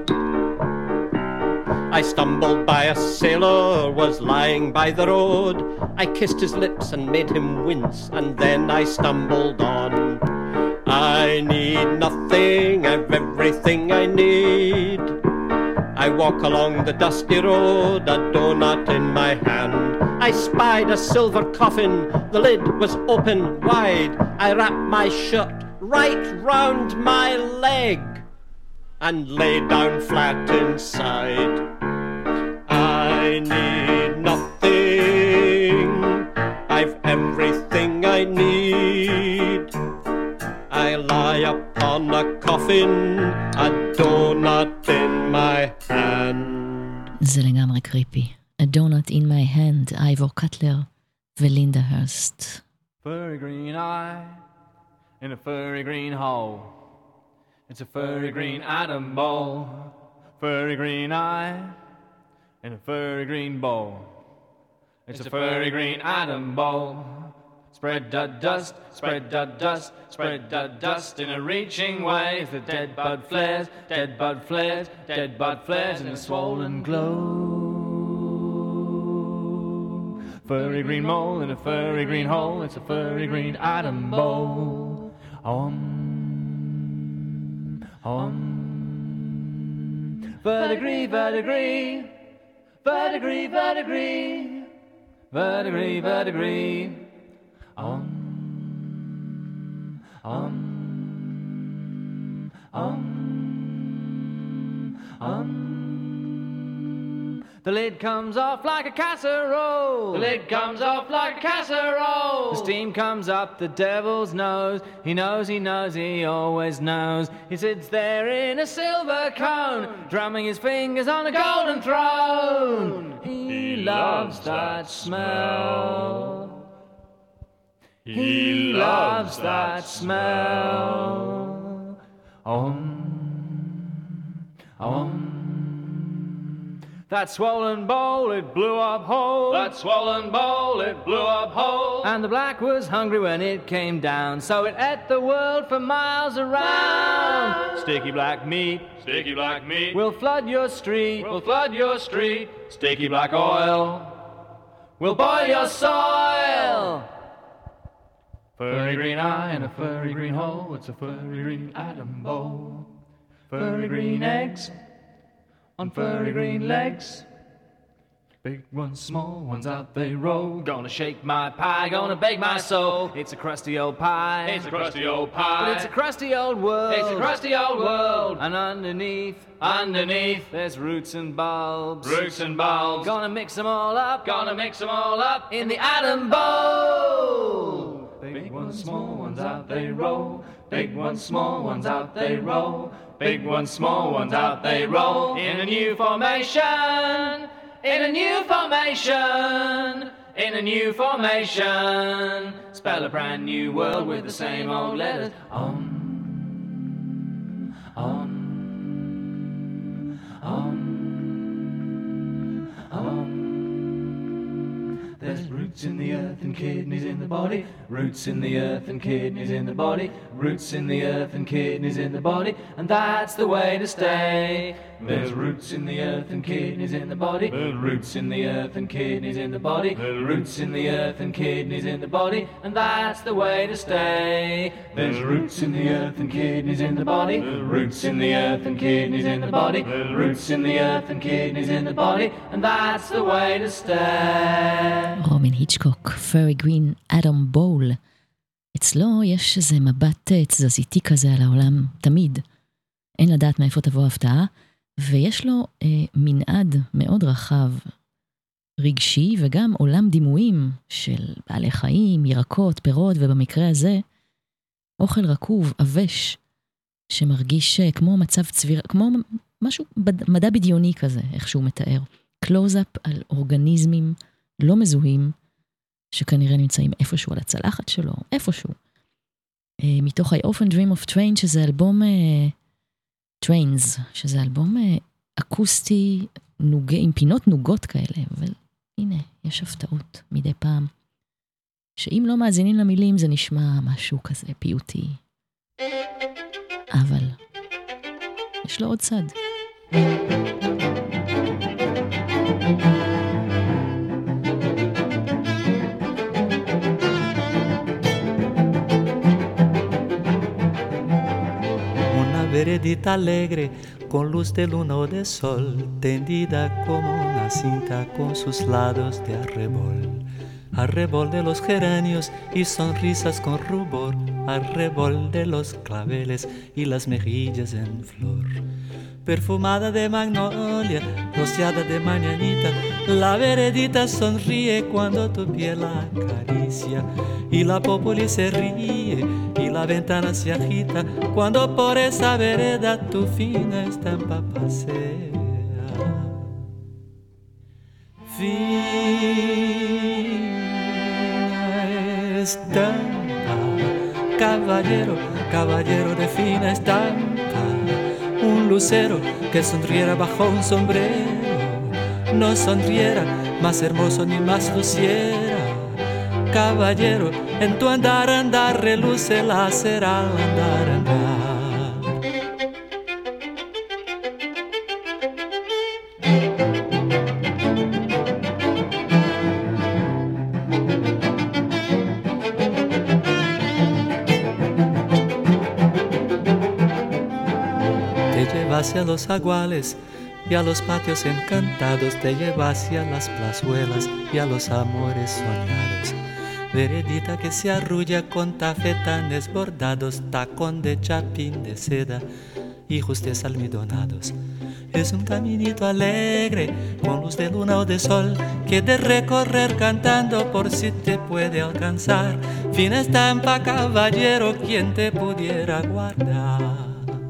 I stumbled by a sailor, was lying by the road. I kissed his lips and made him wince, and then I stumbled on. I need nothing, I've everything I need. I walk along the dusty road, a donut in my hand. I spied a silver coffin, the lid was open wide. I wrapped my shirt right round my leg and lay down flat inside. I need nothing, I've everything I need. I lie upon a coffin, a donut in my hand. זה לגמרי קריפי. A donut in my hand, אייבור קטלר ולינדה הרסט. Furry green eye in a furry green hole. It's a furry green atom ball. Furry green eye in a furry green bowl. It's a furry green atom bowl. Spread the dust, spread the dust, spread the dust in a reaching way. As the dead bud flares, dead bud flares, dead bud flares in a swollen glow. Furry green mole in a furry green hole. It's a furry green atom bowl. Om, om. Verdigree, verdigree, verdigree, verdigree, verdigree, verdigree. Um, um, um, um. The lid comes off like a casserole. The lid comes off like a casserole. The steam comes up the devil's nose. He knows, he knows, he always knows. He sits there in a silver cone, drumming his fingers on a golden throne. He, he loves that smell. He loves that smell. Om, om. That swollen bowl, it blew up whole. That swollen bowl, it blew up whole. And the black was hungry when it came down, so it ate the world for miles around. Sticky black meat, sticky black meat, will flood your street, will flood your street. Sticky black oil will boil your soil. Furry green eye and a furry green hole. It's a furry green atom bowl. Furry green eggs on furry green legs. Big ones, small ones, out they roll. Gonna shake my pie, gonna bake my soul. It's a crusty old pie. It's a crusty old pie. But it's a crusty old world. It's a crusty old world. And underneath, underneath, there's roots and bulbs. Roots and bulbs. Gonna mix them all up. Gonna mix them all up in the atom bowl. Big ones, small ones, out they roll. Big ones, small ones, out they roll. Big ones, small ones, out they roll. In a new formation. In a new formation, in a new formation, spell a brand new world with the same old letters. On, on, on, on. There's roots in the earth and kidneys in the body. Roots in the earth and kidneys in the body. Roots in the earth and kidneys in the body. And that's the way to stay. There's roots in the earth and kidneys in the body. Roots in the earth and kidneys in the body. Roots in the earth and kidneys in the body. And that's the way to stay. There's roots in the earth and kidneys in the body. Roots in the earth and kidneys in the body. Roots in the earth and kidneys in the body. And that's the way to stay. רובין היצ'קוק, פרי גרין, אדם בול. אצלו יש איזה מבט תזזיתי כזה על העולם תמיד. אין לדעת מאיפה תבוא ההפתעה, ויש לו אה, מנעד מאוד רחב, רגשי, וגם עולם דימויים של בעלי חיים, ירקות, פירות, ובמקרה הזה, אוכל רקוב, אבש, שמרגיש כמו מצב צביר, כמו משהו מדע בדיוני כזה, איך שהוא מתאר. קלוז-אפ על אורגניזמים לא מזוהים, שכנראה נמצאים איפשהו על הצלחת שלו, איפשהו. אה, מתוך I often dream of train, שזה אלבום אה, Trains, שזה אלבום אה, אקוסטי, נוג... עם פינות נוגות כאלה, אבל הנה, יש הפתעות מדי פעם, שאם לא מאזינים למילים, זה נשמע משהו כזה פיוטי. אבל יש לו עוד צד. Veredita alegre, con luz de luna o de sol, tendida como una cinta con sus lados de arrebol. Arrebol de los geranios y sonrisas con rubor, arrebol de los claveles y las mejillas en flor. Perfumada de magnolia, rociada de mañanita, la veredita sonríe cuando tu piel la acaricia, y la populi se ríe, y la ventana se agita, cuando por esa vereda tu fina estampa pasea. Fina estampa, caballero, caballero de fina estampa, un lucero que sonriera bajo un sombrero, no sonriera más hermoso ni más luciera. Caballero, en tu andar, andar, reluce la cera al andar, andar. Te lleva hacia los aguales y a los patios encantados, te lleva hacia las plazuelas y a los amores soñados. Veredita que se arrulla con tafetanes bordados, tacón de chapín de seda y justes almidonados. Es un caminito alegre, con luz de luna o de sol, que de recorrer cantando por si te puede alcanzar. Fina estampa, caballero, quien te pudiera guardar.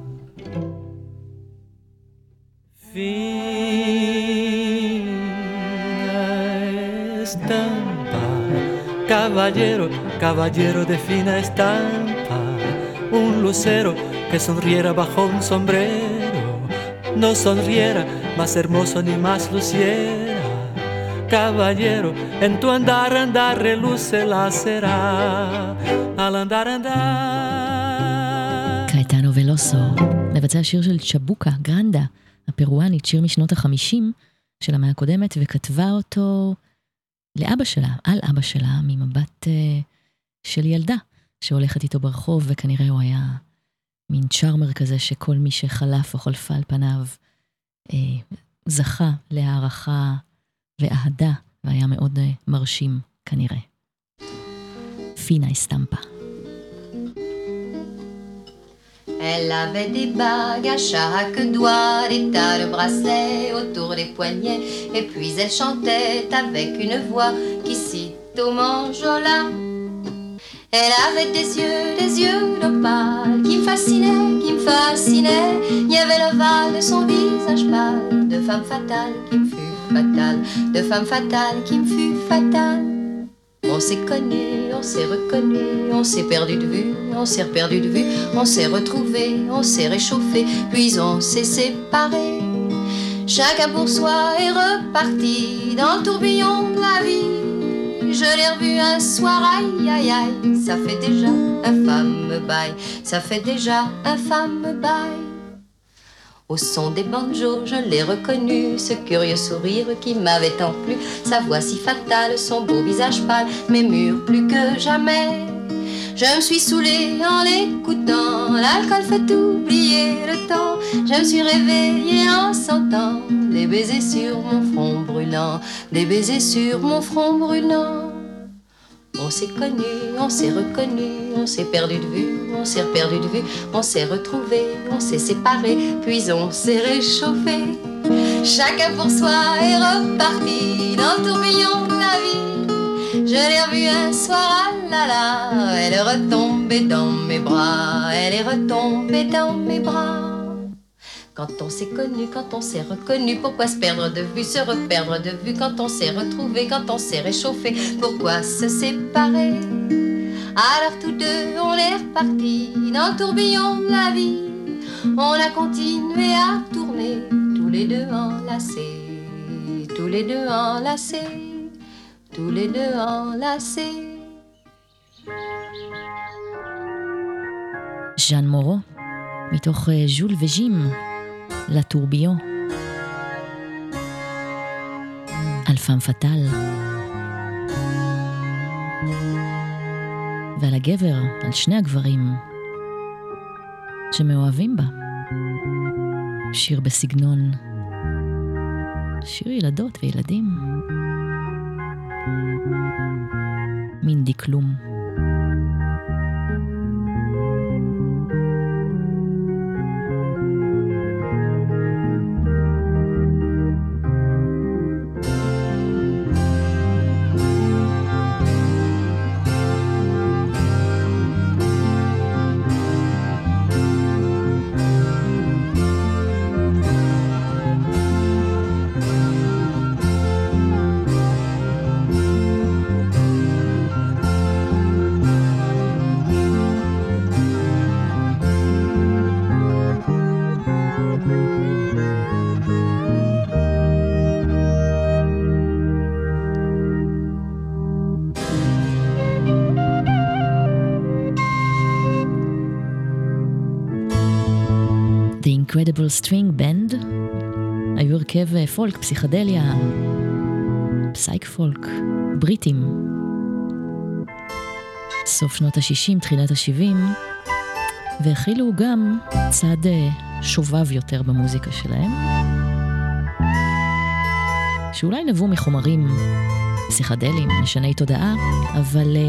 Fina estampa, caballero, caballero de fina estampa, un lucero que sonriera bajo un sombrero, no sonriera más hermoso ni más luciera. Caballero, en tu andar, andar, reluce la cera, al andar, andar. קייטנו ולוסו, מבצע שיר של צ'בוקה, גרנדה, הפרואנית, שיר משנות החמישים של המאה הקודמת, וכתבה אותו לאבא שלה, על אבא שלה, ממבט uh, של ילדה, שהולכת איתו ברחוב, וכנראה הוא היה מין צ'ארמר כזה, שכל מי שחלף או חולפה על פניו, uh, זכה להערכה ואהדה, והיה מאוד מרשים כנראה. פינה אסטמפה. Elle avait des bagues à chaque doigt, des tas de bracelets autour des poignets, et puis elle chantait avec une voix qui cite au manjola. Elle avait des yeux, des yeux d'opale qui me fascinaient, qui me fascinaient. Il y avait l'ovale de son visage pâle, de femme fatale qui me fut fatale, de femme fatale qui me fut fatale. On s'est connu, on s'est reconnu, on s'est perdu de vue, on s'est perdu de vue, on s'est retrouvé, on s'est réchauffé, puis on s'est séparé. Chacun pour soi est reparti dans le tourbillon de la vie. Je l'ai revu un soir, aïe aïe aïe, ça fait déjà un fameux bail, ça fait déjà un fameux bail. Au son des banjos, je l'ai reconnu, ce curieux sourire qui m'avait tant plu, sa voix si fatale, son beau visage pâle, m'émure plus que jamais. Je me suis saoulée en l'écoutant, l'alcool fait oublier le temps. Je me suis réveillée en sentant des baisers sur mon front brûlant, des baisers sur mon front brûlant. On s'est connu, on s'est reconnu, on s'est perdu de vue, on s'est perdu de vue, on s'est retrouvé, on s'est séparé, puis on s'est réchauffé. Chacun pour soi est reparti dans le tourbillon de la vie. Je l'ai revue un soir, ah là là, elle est retombée dans mes bras, elle est retombée dans mes bras. Quand on s'est connu, quand on s'est reconnu, pourquoi se perdre de vue, se reperdre de vue? Quand on s'est retrouvé, quand on s'est réchauffé, pourquoi se séparer? Alors tous deux, on est repartis dans le tourbillon de la vie. On a continué à tourner, tous les deux enlacés, tous les deux enlacés, tous les deux enlacés. ז'אן מורו, מתוך ז'ול וז'ים, לטורביון. על פאם פטל. ועל הגבר, על שני הגברים שמאוהבים בה. שיר בסגנון, שיר ילדות וילדים. מין דקלום. Incredible String Band היו הרכב פולק, פסיכדליה, פסייק פולק, בריטים. סוף שנות ה-שישים, תחילת ה-שבעים, והכילו גם צד שובב יותר במוזיקה שלהם, שאולי נבוא מחומרים פסיכדליים, משני תודעה, אבל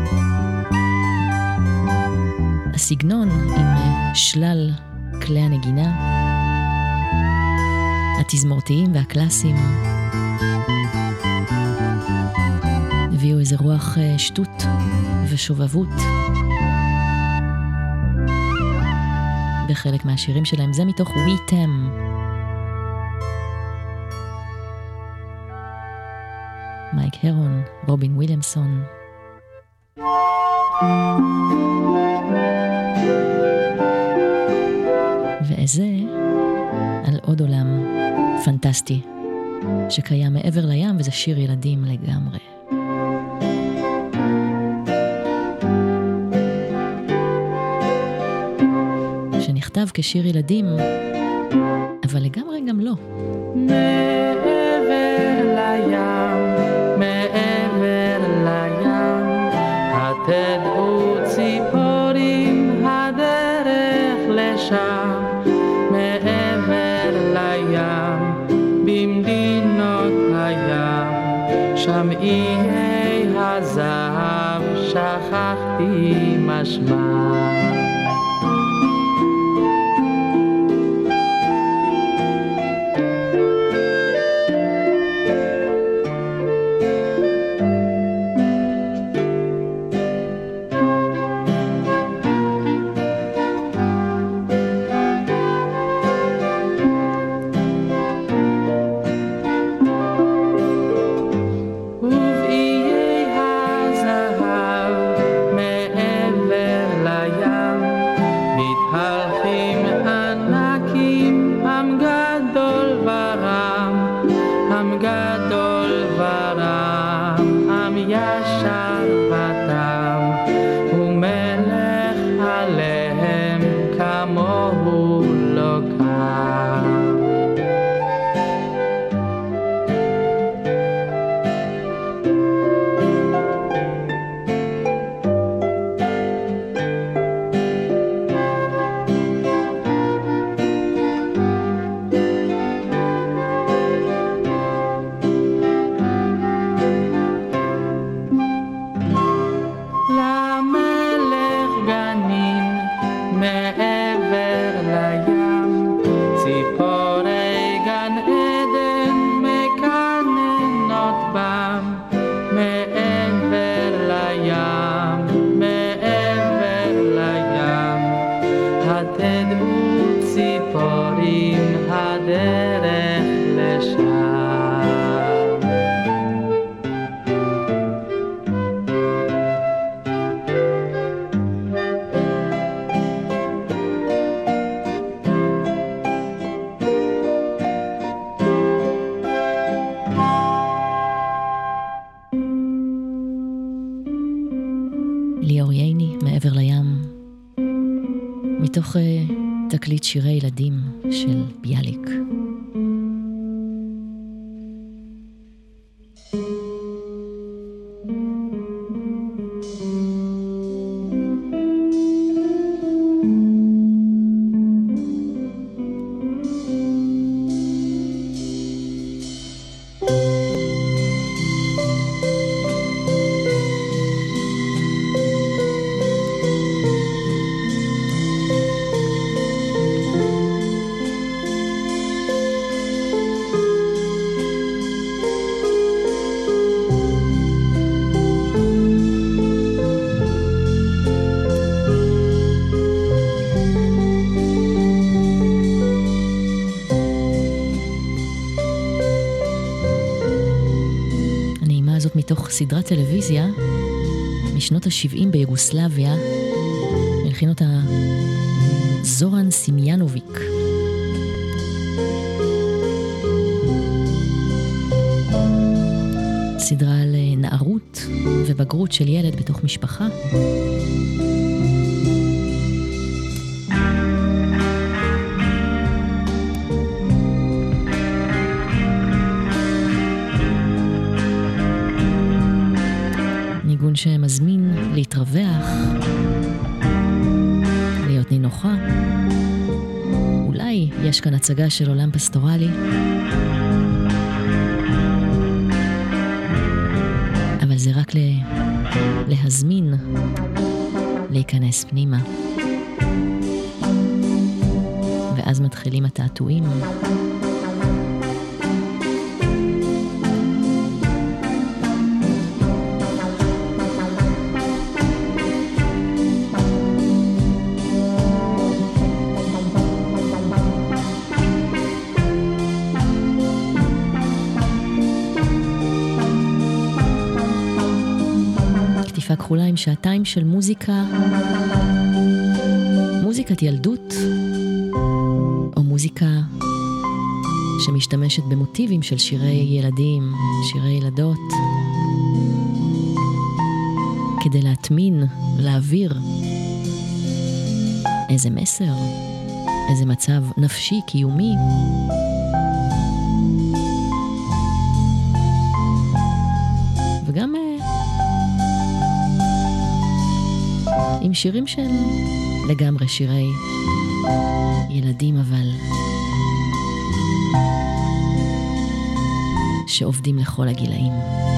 הסגנון עם שלל כלי הנגינה, התזמורתיים והקלאסיים, הביאו איזה רוח שטות ושובבות בחלק מהשירים שלהם. זה מתוך We Tem, מייק הרון, רובין וויליאמסון. וזה על עוד עולם פנטסטי שקיים מעבר לים, וזה שיר ילדים לגמרי. שנכתב כשיר ילדים, אבל לגמרי גם לא. מעבר לים, מעבר לים, התדעו ציפורים הדרך לשם. מעבר לים, במדינות הים, שם איי הזהב שכחתי משמע. מתוך uh, תקליט שירי ילדים של ביאליק. מתוך סדרת טלוויזיה משנות ה-שבעים ביוגוסלביה, הלחין אותה זורן סימיאנוביק. סדרה על נערות ובגרות של ילד בתוך משפחה. ניגון שמזמין להתרווח, להיות נינוחה. אולי יש כאן הצגה של עולם פסטורלי, אבל זה רק לה... להזמין להיכנס פנימה. ואז מתחילים התעתועים. כחולה עם שעתיים של מוזיקה, מוזיקת ילדות, או מוזיקה שמשתמשת במוטיבים של שירי ילדים, שירי ילדות, כדי להטמין, להעביר איזה מסר, איזה מצב נפשי, קיומי. וגם עם שירים של לגמרי שירי ילדים, אבל שעובדים לכל הגילאים.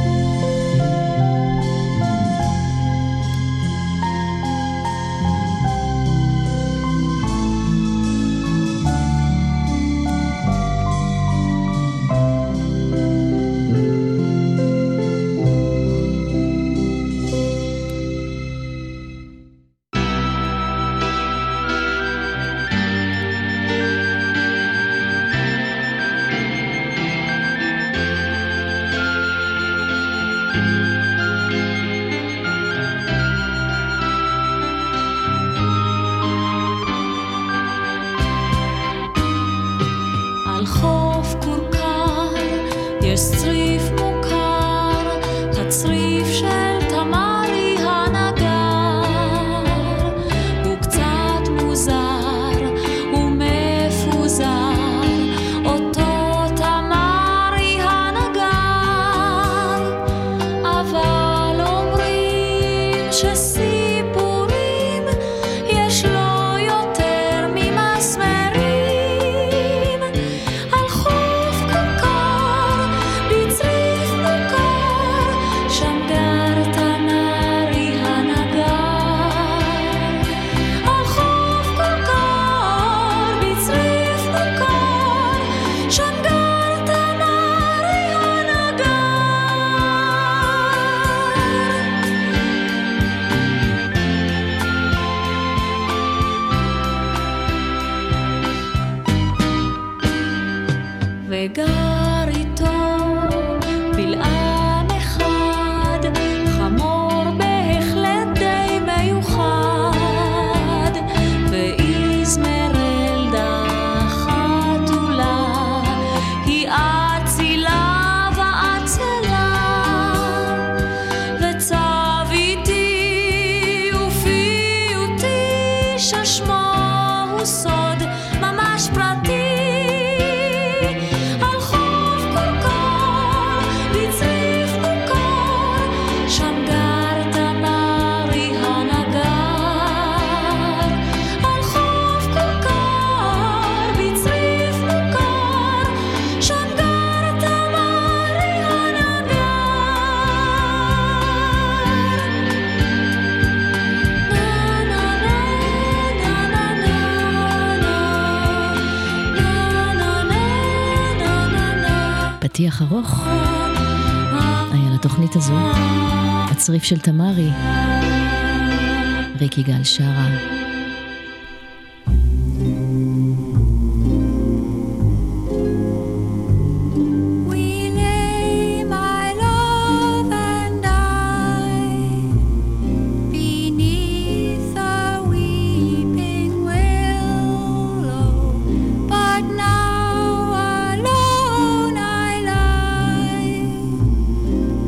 פתיח ארוך היה לתוכנית הזו, הצריף של תמרי, ריק יגאל שרה.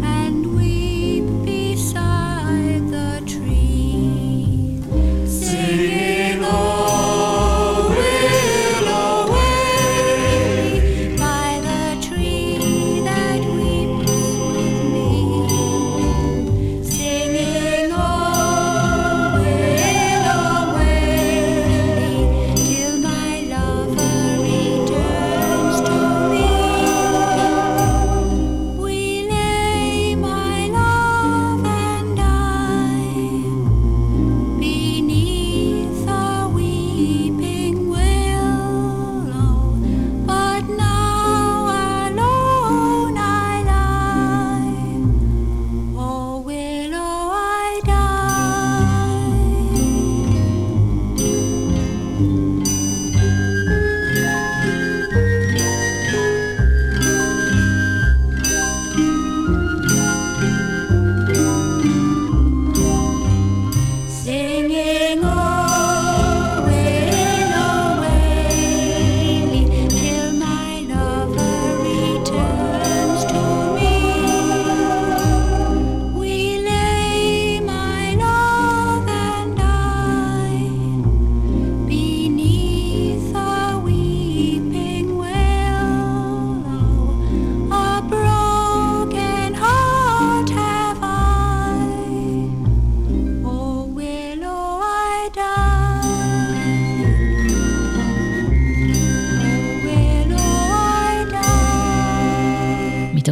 Sing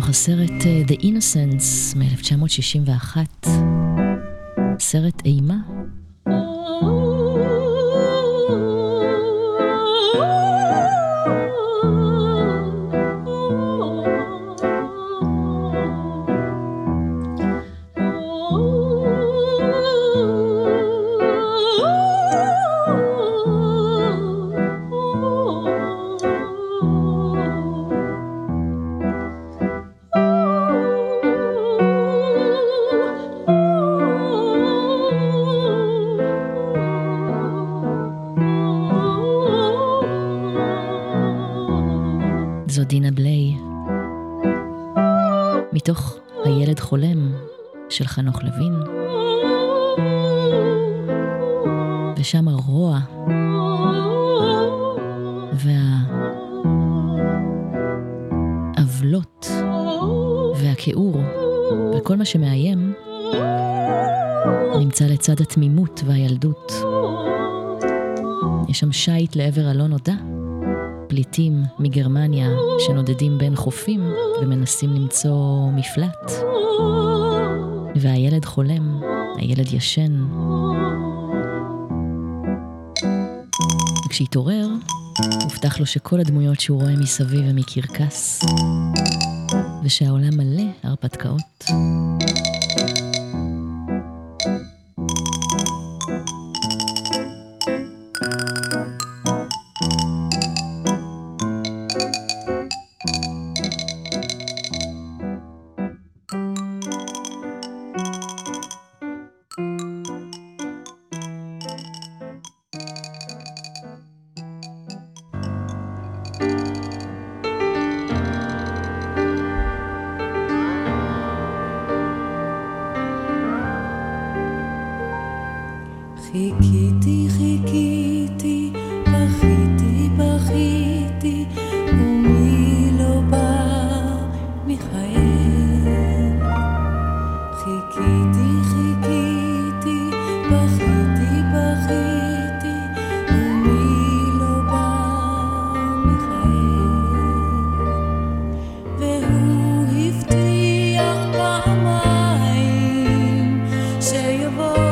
הסרט The Innocents מ-אלף תשע מאות שישים ואחת, סרט אימה. זו דינה בליי, מתוך הילד חולם של חנוך לוין, ושם הרוע והעוולות והכיעור וכל מה שמאיים נמצא לצד התמימות והילדות. יש שם שייט לעבר הלא נודע, פליטים מגרמניה שנודדים בין חופים ומנסים למצוא מפלט, והילד חולם, הילד ישן. וכשהתעורר, הובטח לו שכל הדמויות שהוא רואה מסביב הם מקרקס, ושהעולם מלא הרפתקאות. חיכיתי, חיכיתי, בכיתי, בכיתי, ומי לא בא מחייך. חיכיתי, חיכיתי, בכיתי, בכיתי, ומי לא בא מחייך. והוא הבטיח פעמיים שיבוא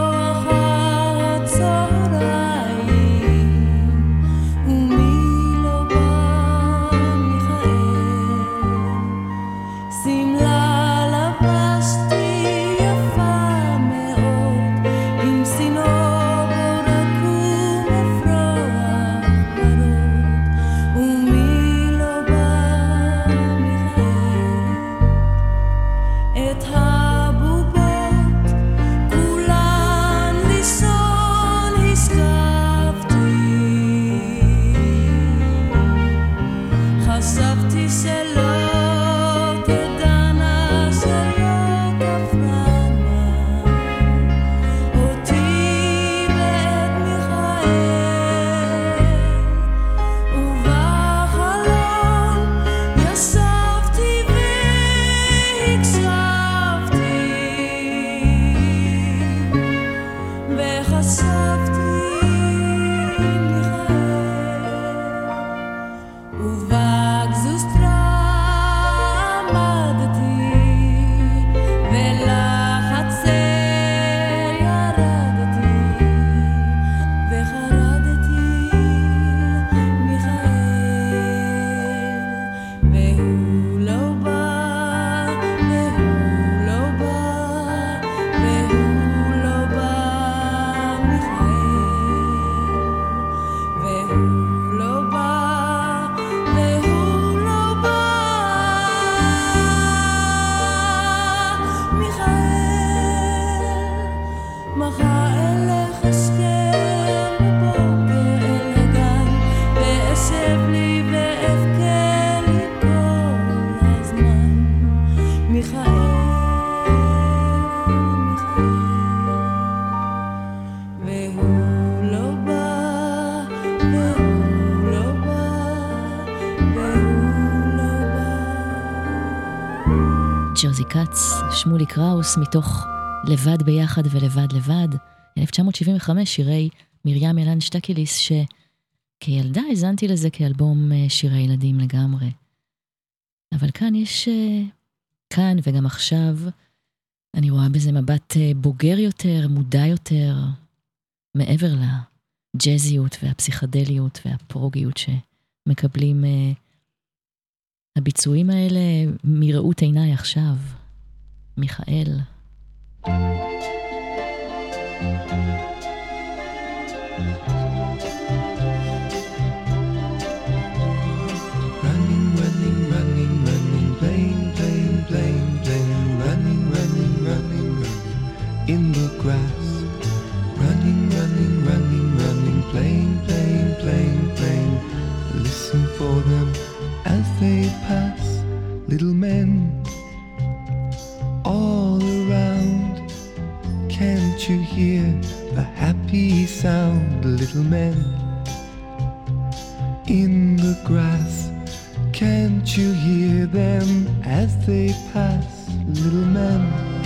ג'וזי קאץ, שמולי קראוס, מתוך לבד ביחד ולבד לבד, אלף תשע מאות שבעים וחמש, שירי מרים ילן שטקליס, שכילדה הזנתי לזה כאלבום שירי ילדים לגמרי. אבל כאן יש, כאן וגם עכשיו, אני רואה בזה מבט בוגר יותר, מודע יותר, מעבר לג'זיות והפסיכדליות והפרוגיות שמקבלים הביצועים האלה מראות עיניי עכשיו. מיכאל. In the grass, running, running, running, running, playing, playing, playing, playing. Listen for them as they pass, little men all around. Can't you hear the happy sound, little men in the grass? Can't you hear them as they pass, little men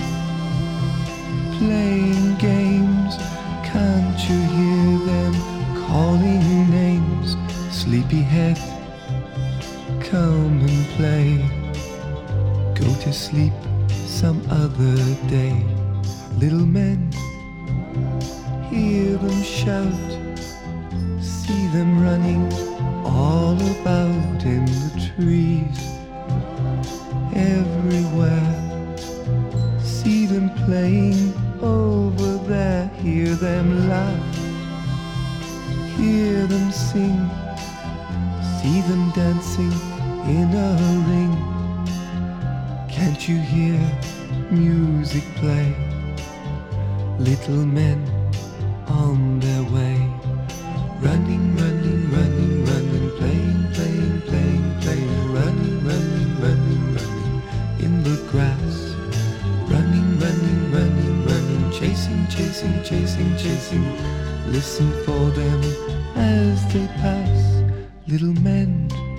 playing games? Can't you hear them calling names? Sleepyhead, come and play. Go to sleep some other day. Little men, hear them shout, see them running all about in the trees. Everywhere, see them playing over there, hear them laugh, hear them sing, see them dancing in a ring. Can't you hear music play? Little men on their way, running, running, running, running, playing, playing, playing, playing, running, running, running, running in the grass, running, running, running, running, chasing, chasing, chasing, chasing. Listen for them as they pass, little men,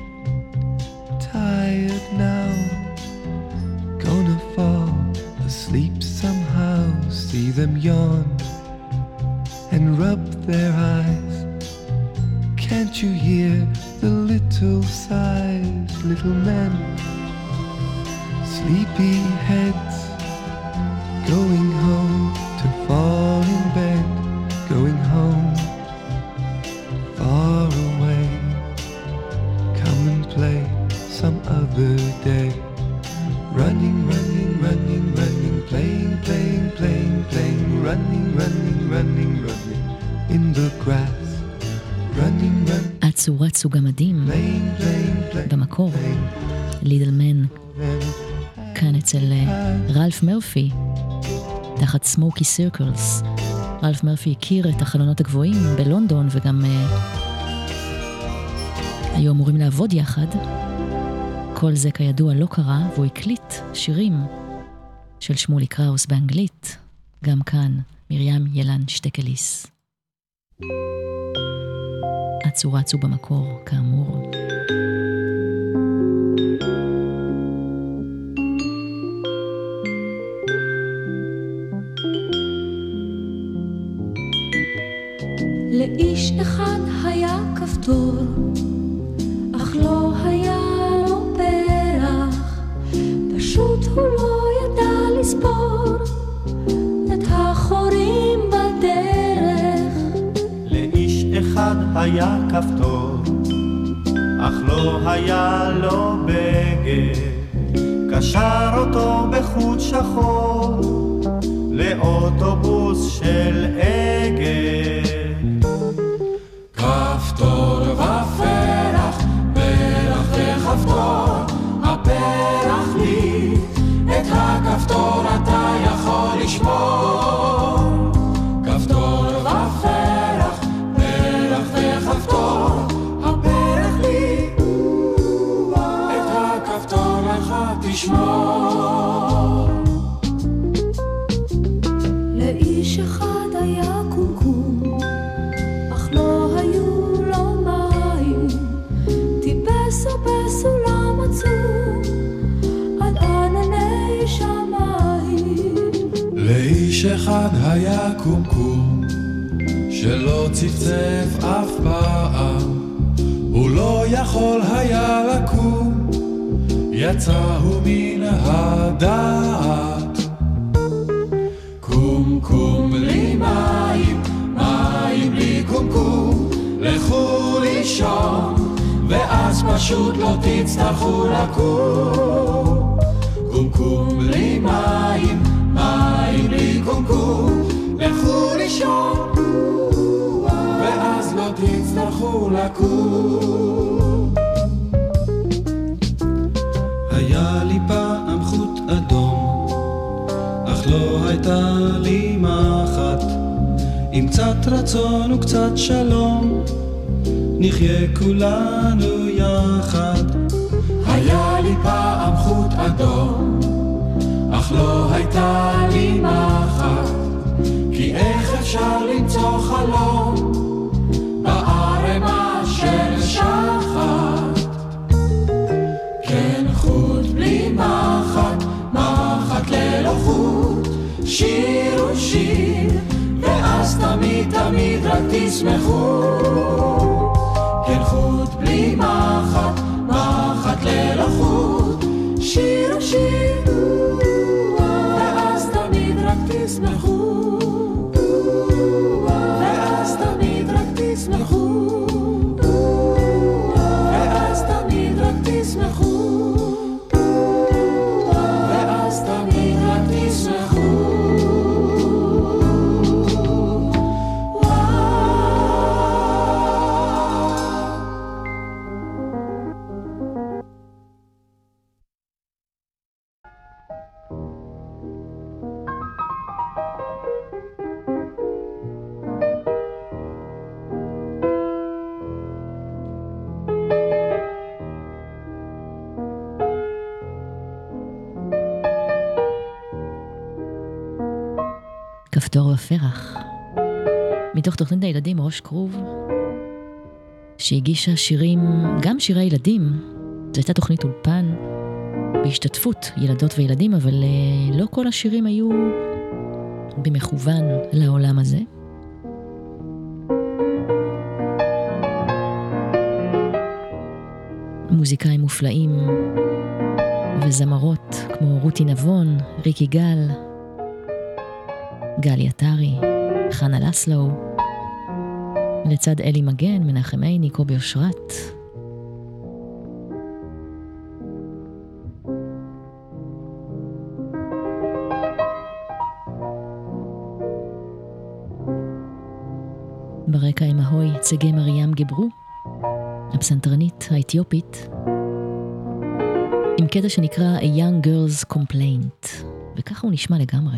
tired now, gonna fall asleep somehow. See them yawn and rub their eyes. Can't you hear the little sighs, little men, sleepy heads, going home to fall in bed, going home far away. Come and play some other day. Running, running, running, running, playing, playing, playing, playing, running, running, running, running in the grass. Running, running. אצו רצו גמדים במקור, לידל מן, כאן אצל רלף מרפי, תחת סמוקי סירקלס. רלף מרפי הכיר את החלונות הגבוהים בלונדון, וגם uh, היו אמורים לעבוד יחד. כל זה כידוע לא קרה, והוא הקליט שירים של שמולי קראוס באנגלית, גם כאן מרים ילן שטקליס. אצו רצו במקור, כאמור. לאיש אחד היה כפתור, אך לא היה לו פרח, פשוט הוא לא ידע לספור את החורים בדרך. לאיש אחד היה כפתור, אך לא היה לו בגד, קשר אותו בחוט שחור לאוטובוס של אגד. כפתור ופרח, פרח וכפתור, הפרח לי, את הכפתור אתה יכול לשמור. כפתור ופרח, פרח וכפתור, הפרח לי, את הכפתור לך תשמור. לאיש אחד היה קומקום, אך לא היו לו מים, טיפסו בסולם עצום עד ענני שמיים. לאיש אחד היה קומקום שלא צפצף אף פעם, הוא לא יכול היה לקום, יצאו מן הדעת. קום קום בלי מים, מים בלי קומקום, לכו לישון ואז פשוט לא תצטרכו לקום. קום קום בלי מים, מים בלי קומקום, לכו לישון ואז לא תצטרכו לקום. היה לי פעם חוט אדום, אך לא הייתה לי מחט. עם קצת רצון וקצת שלום, נחיה כולנו יחד. היה לי פעם חוט אדום, אך לא הייתה לי מחט. כי איך אפשר למצוא חלום בערמה של שחת? כן חוט בלי מחט, מחט ללא חוט, שיר ושיר, ואז תמיד תמיד רק תשמחו. כן חוט בלי מחט, מחט ללא חוט, שיר ושיר, ואז תמיד רק תשמחו. ואז תמיד רק תשמחו. ואז תמיד רק תשמחו. ואז תמיד רק תשמחו. כפתור ופרח, מתוך תוכנית הילדים ראש כרוב, שהגישה שירים, גם שירי ילדים. זו הייתה תוכנית אולפן בהשתתפות ילדות וילדים, אבל לא כל השירים היו במכוון לעולם הזה. מוזיקאים מופלאים וזמרות כמו רותי נבון, ריקי גל, גלי עטרי, חנה לסלו, לצד אלי מגן, מנחם עיני, קובי אושרת. ברקע עם ההוי צגי מרים גיברו, הפסנתרנית האתיופית, עם קטע שנקרא A Young Girl's Complaint, וככה הוא נשמע לגמרי.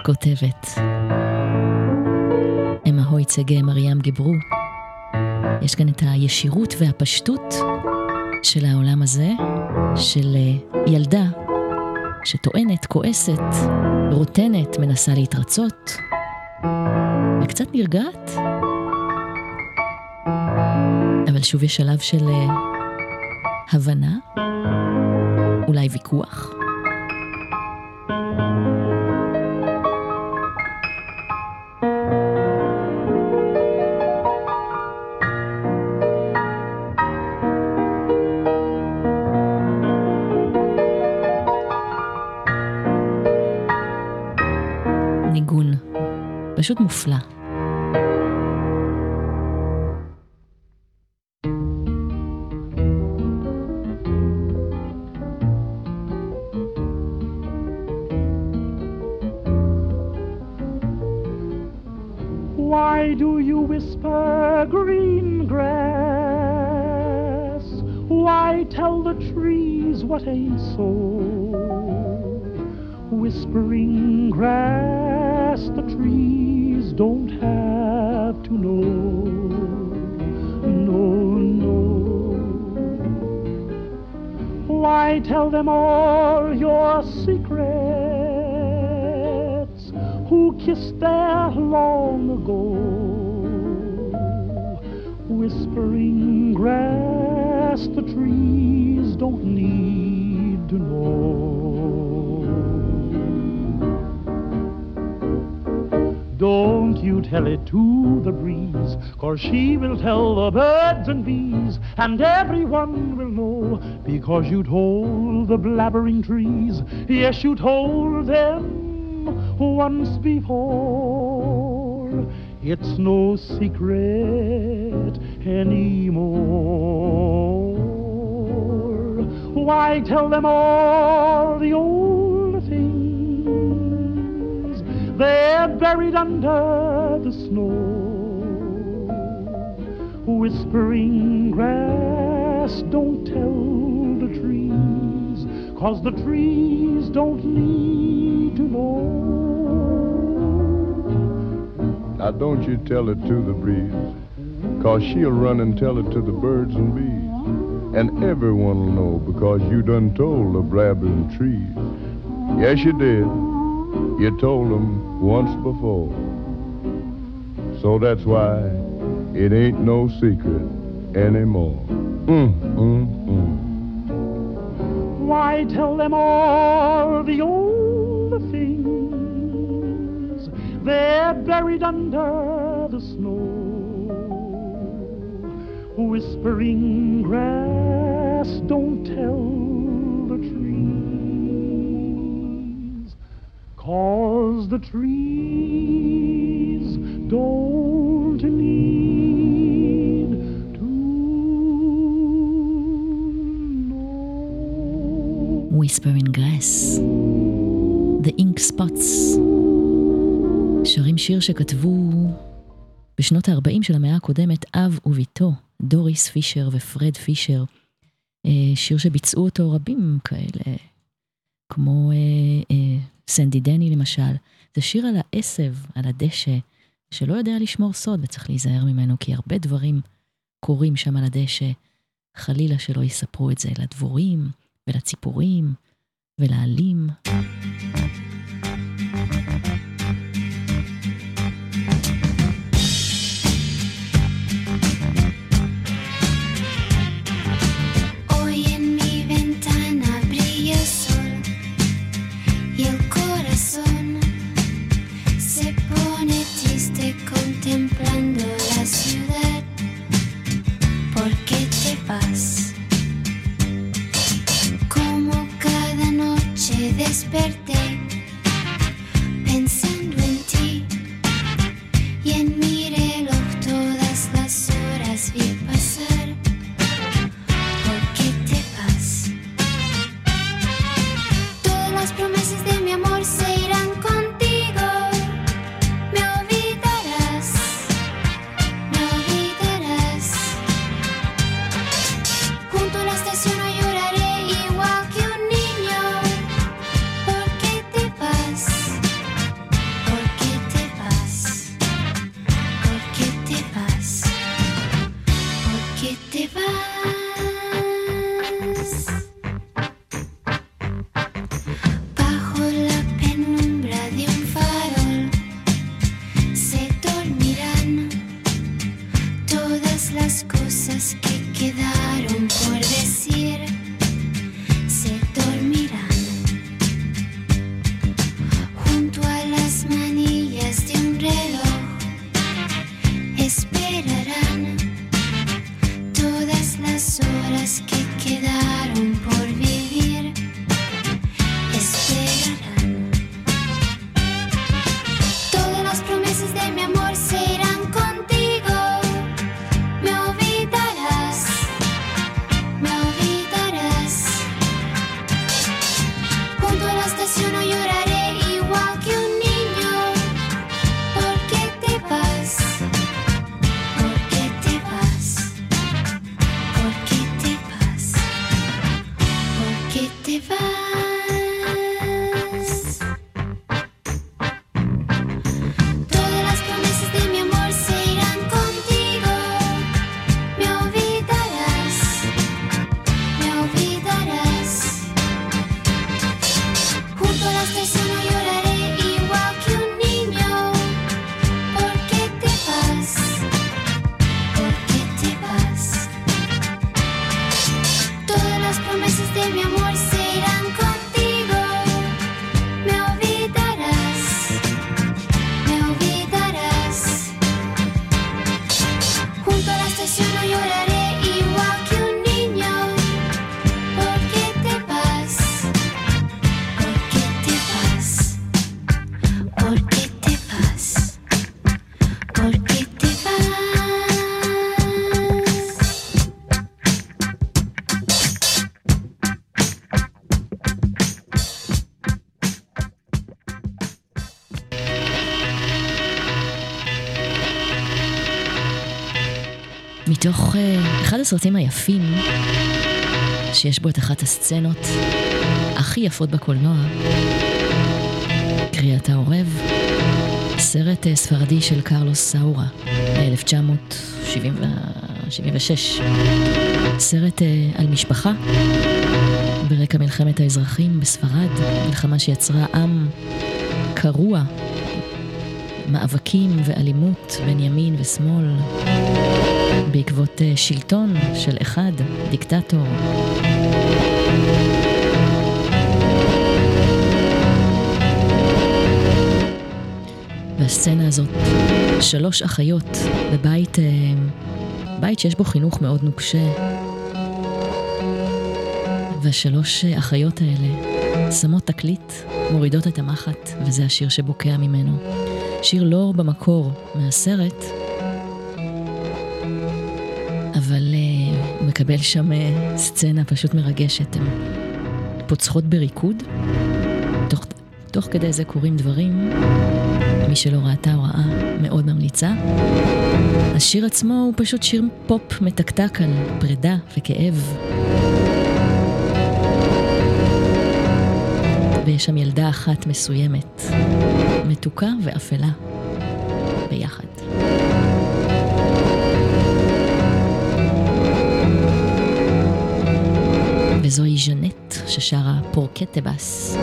כותבת. אמה הויצגה מרים גיברו. יש כאן את הישירות והפשטות של העולם הזה, של ילדה שטוענת, כועסת, רוטנת, מנסה להתרצות, וקצת נרגעת. אבל שוב יש שלב של הבנה, אולי ויכוח. ניגון, פשוט מופלא. Why do you whisper green grass? Why tell the trees what ain't so? Whispering grass, the trees don't have to know. No, no. Why tell them all your secrets? Who kissed there long ago? Whispering grass, the trees don't need to know. Don't you tell it to the breeze, 'cause she will tell the birds and bees, and everyone will know, because you told the blabbering trees. Yes, you told them once before. It's no secret anymore. Why tell them all the old things? They're buried under the snow. Whispering grass, don't tell the trees, 'cause the trees don't need to know. Now don't you tell it to the breeze, 'cause she'll run and tell it to the birds and bees. And everyone will know, because you done told the blabbering trees. Yes, you did. You told them once before. So that's why it ain't no secret anymore. Mm, mm, mm. Why tell them all the old things? They're buried under the snow. Whispering grass, don't tell the trees, 'cause the trees don't need to know. Whispering grass, The Ink Spots, שרים שיר שכתבו בשנות ה-ארבעים של המאה הקודמת אב וביתו, דוריס פישר ופרד פישר, שיר שביצעו אותו רבים כאלה, כמו סנדי דני למשל. זה שיר על העשב, על הדשא, שלא יודע לשמור סוד וצריך להיזהר ממנו, כי הרבה דברים קורים שם על הדשא, חלילה שלא יספרו את זה לדבורים ולציפורים ולעלים. Contemplando la ciudad, ¿por qué te vas? Como cada noche desperté las manillas de un reloj esperarán todas las horas que quedaron por vivir. Esperarán. Todas las promesas de mi amor se irán contigo. Me olvidarás, me olvidarás. Junto a la estación no lloraré igual que un niño. ¿Por qué te vas? ¿Por qué te vas? ¿Por qué te vas? ¿Por qué te vas? Todas las promesas de mi amor se irán contigo. Me olvidarás, me olvidarás. Junto a la estación no lloraré igual que un niño. ¿Por qué te vas? ¿Por qué te vas? Todas las promesas de mi amor se irán contigo. Me olvidarás, me olvidarás. Junto a la estación no lloraré igual que un niño. ¿Por qué te vas? ¿Por qué te vas? ¿Por qué te vas? ¿Por qué te vas? מתוך uh, אחד הסרטים היפים, שיש בו את אחת הסצנות הכי יפות בקולנוע, קריאת העורב, סרט uh, ספרדי של קרלוס סאורה, ב-אלף תשע מאות שבעים ושש. סרט uh, על משפחה, ברקע מלחמת האזרחים בספרד, מלחמה שיצרה עם קרוע, מאבקים ואלימות בין ימין ושמאל, בעקבות שלטון של אחד, דיקטטור. והסצנה הזאת, שלוש אחיות בבית, בית שיש בו חינוך מאוד נוקשה, והשלוש אחיות האלה שמות תקליט, מורידות את המחט, וזה השיר שבוקע ממנו. שיר לא במקור מהסרט, אבל uh, הוא מקבל שם uh, סצנה פשוט מרגשת. הן פוצחות בריקוד, תוך, תוך כדי זה קורים דברים. מי שלא ראתה או ראה מאוד ממליצה. השיר עצמו הוא פשוט שיר פופ מתקתק על פרידה וכאב. ויש שם ילדה אחת מסוימת, מתוקה ואפלה, ביחד. וזוהי ז'נט ששרה פורקטבס.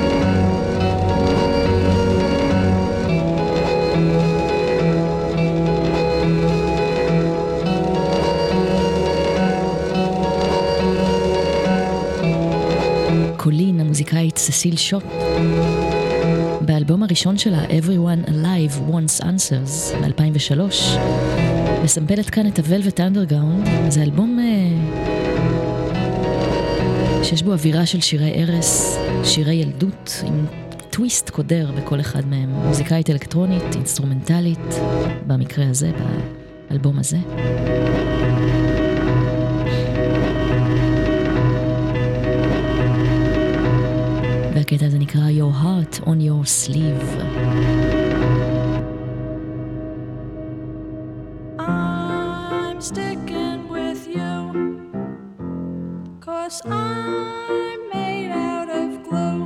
קולין, המוזיקאית ססיל שוט, באלבום הראשון שלה, Everyone Alive Wants Answers, ב-אלפיים ושלוש, מסמפלת כאן את ה-Velvet Underground. זה אלבום שיש בו אווירה של שירי ערס, שירי ילדות, עם טוויסט קודר בכל אחד מהם. מוזיקאית אלקטרונית, אינסטרומנטלית, במקרה הזה, באלבום הזה. והקטע הזה נקרא Your Heart on Your Sleeve. I'm sticking with you, 'cause I'm made out of glue.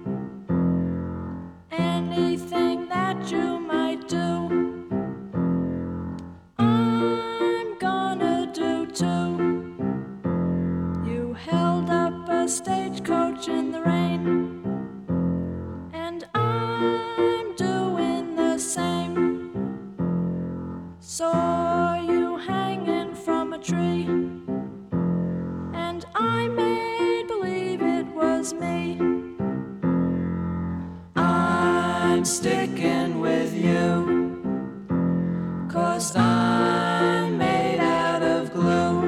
Anything that you might do, I'm gonna do too. You held up a stagecoach in the rain, and I'm doing sticking with you, 'cause I'm made out of glue.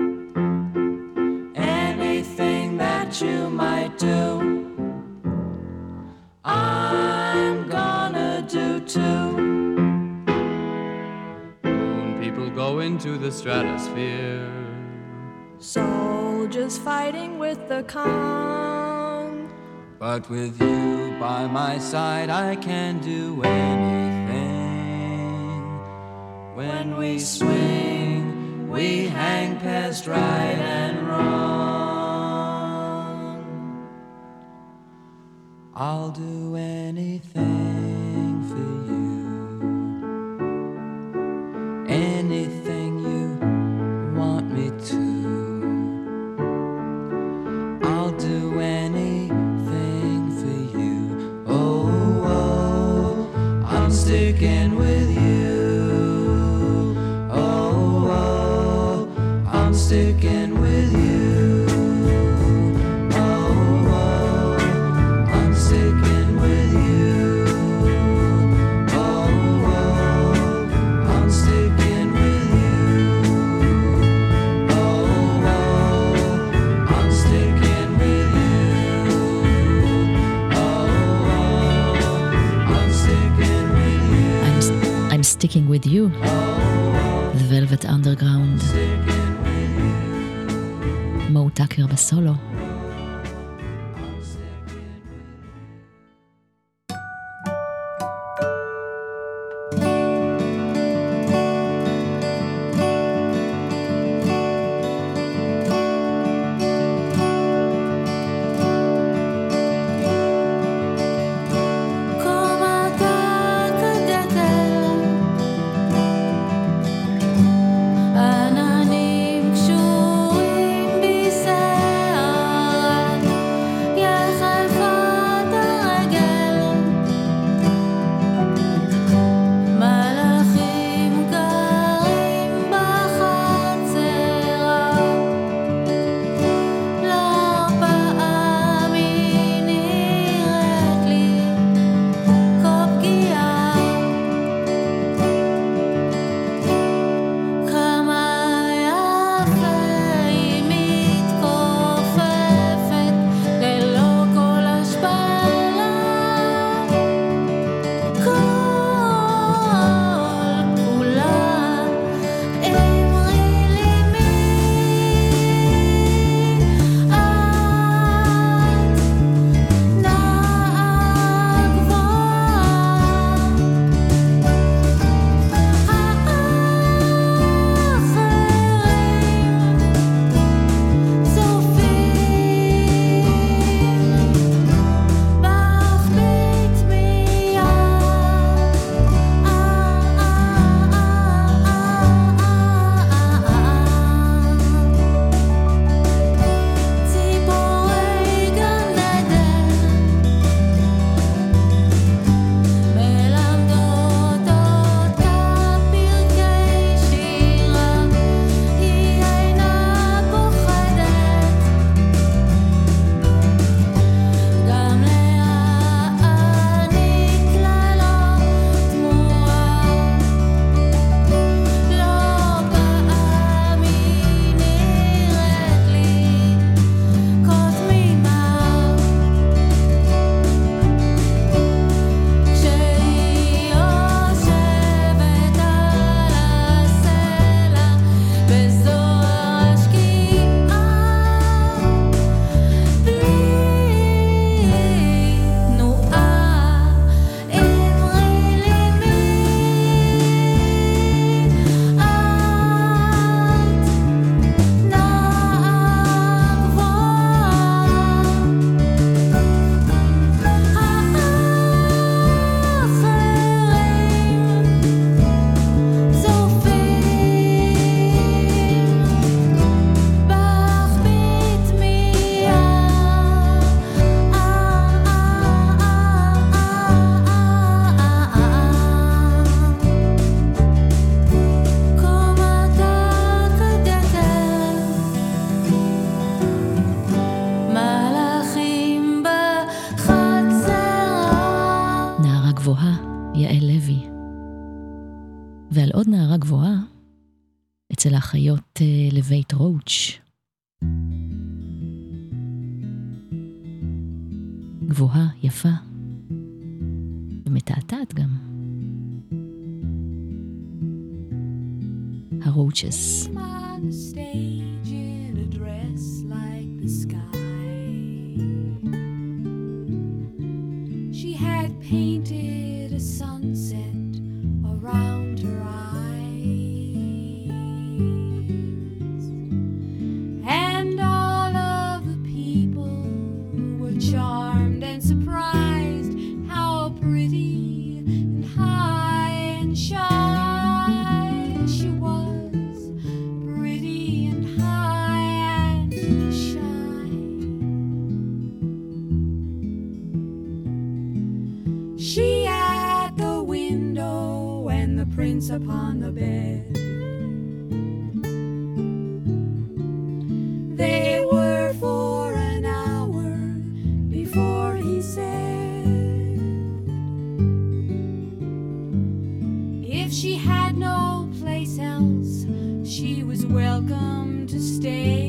Anything that you might do, I'm gonna do too. Moon people go into the stratosphere, soldiers fighting with the calm. But with you by my side, I can do anything. When we swing, we hang past right and wrong. I'll do anything for you, anything you want me to. I'll do anything for you. Oh, oh, I'm sticking with you. Oh, oh, I'm sticking with you. Oh, oh, I'm sticking with you. Oh, oh, I'm sticking with you. Oh, oh, I'm sticking with you. Oh, oh, I'm sticking with you. I'm, I'm sticking with you. The Velvet Underground. מו טאקר בסולו. עננים קשורים בשיער יעל לוי. ועל עוד נערה גבוהה, אצל האחיות לבית רוץ'. גבוהה, יפה, ומתעתעת גם. הרוצ'ס. On the stage in a dress like the sky. She had painted a sunset around her eyes. And all of the people were charmed and surprised how pretty and high and shy she was. Pretty and high and shy. She at the window and the prince upon the bed. They were for an hour before he said, if she had no place else, she was welcome to stay.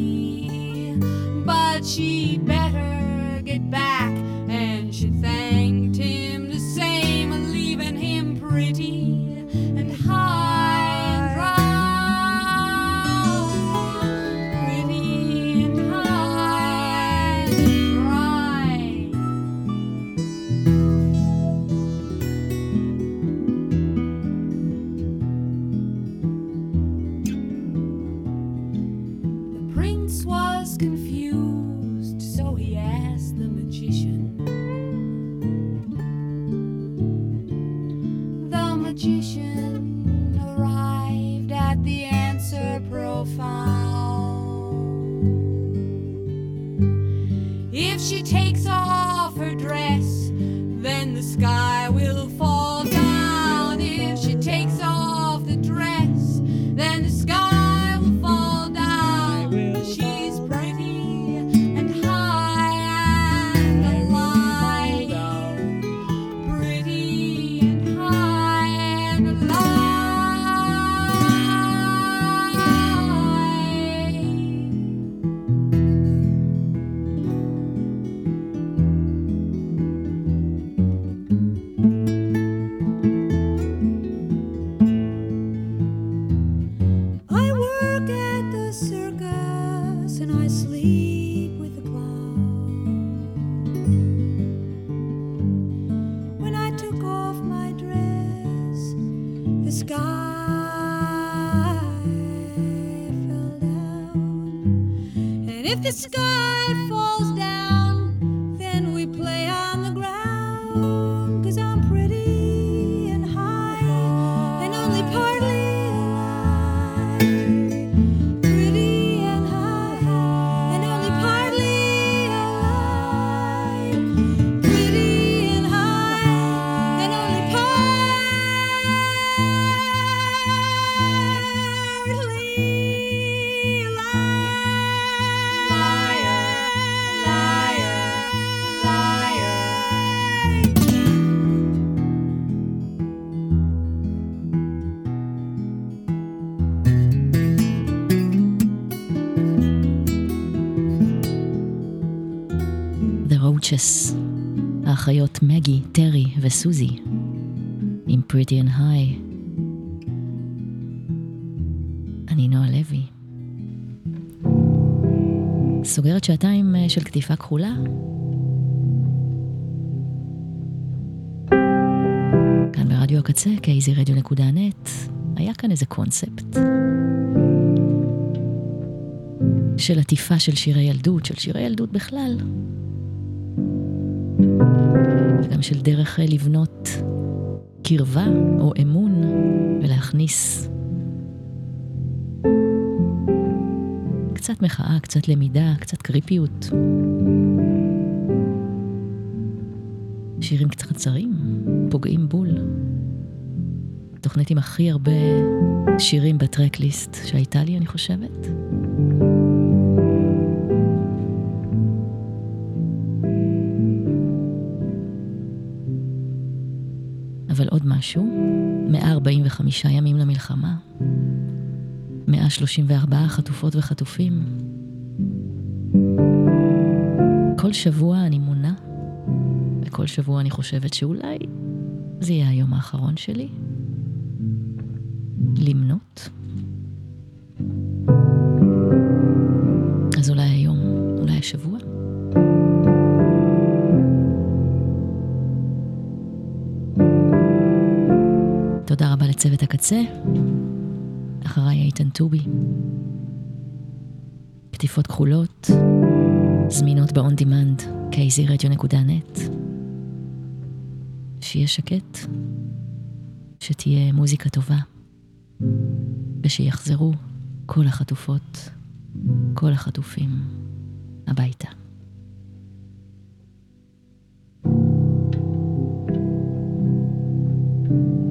But she'd better get back, and she thanked him the same, leaving him pretty and high and dry. Pretty and high and dry. The prince was confused, so he asked the magician. The magician arrived at the answer profound. If she takes off her dress, then the sky will fall down. If she takes off the dress, then the sky will fall down. She's pretty and high and alive. Pretty and high and I work at the circus and I sleep with the clown. When I took off my dress, the sky fell down. And if the sky falls down, then we play on the ground. 'Cause I'm pretty and high and only partly alive. Pretty and high and only partly alive. Pretty and high and only partly alive. Liar, liar, liar. The Roaches, האחיות מגי, טרי וסוזי, עם Pretty and High. אני נועה לוי. סוגרת שעתיים של כתיפה כחולה. כאן ברדיו הקצה, קייזי רדיו נקודה נט, היה כאן איזה קונספט של עטיפה של שירי ילדות, של שירי ילדות בכלל, וגם של דרך לבנות קרבה או אמון ולהכניס קצת מחאה, קצת למידה, קצת קריפיות. שירים קצת קצרים, פוגעים בול. תוכנית עם הכי הרבה שירים בטרקליסט שהייתה לי, אני חושבת. אבל עוד משהו, מאה ארבעים וחמישה ימים למלחמה, מאה שלושים וארבע חטופות וחטופים. כל שבוע אני מונה, וכל שבוע אני חושבת שאולי זה יהיה היום האחרון שלי. למנות. אז אולי היום, אולי השבוע. תודה רבה לצוות הקצה. אחריי איתן טובי. כתיפות כחולות, זמינות ב-on demand, קייזי רדיו נקודה נט. שיהיה שקט, שתהיה מוזיקה טובה, ושיחזרו כל החטופות, כל החטופים הביתה. thank you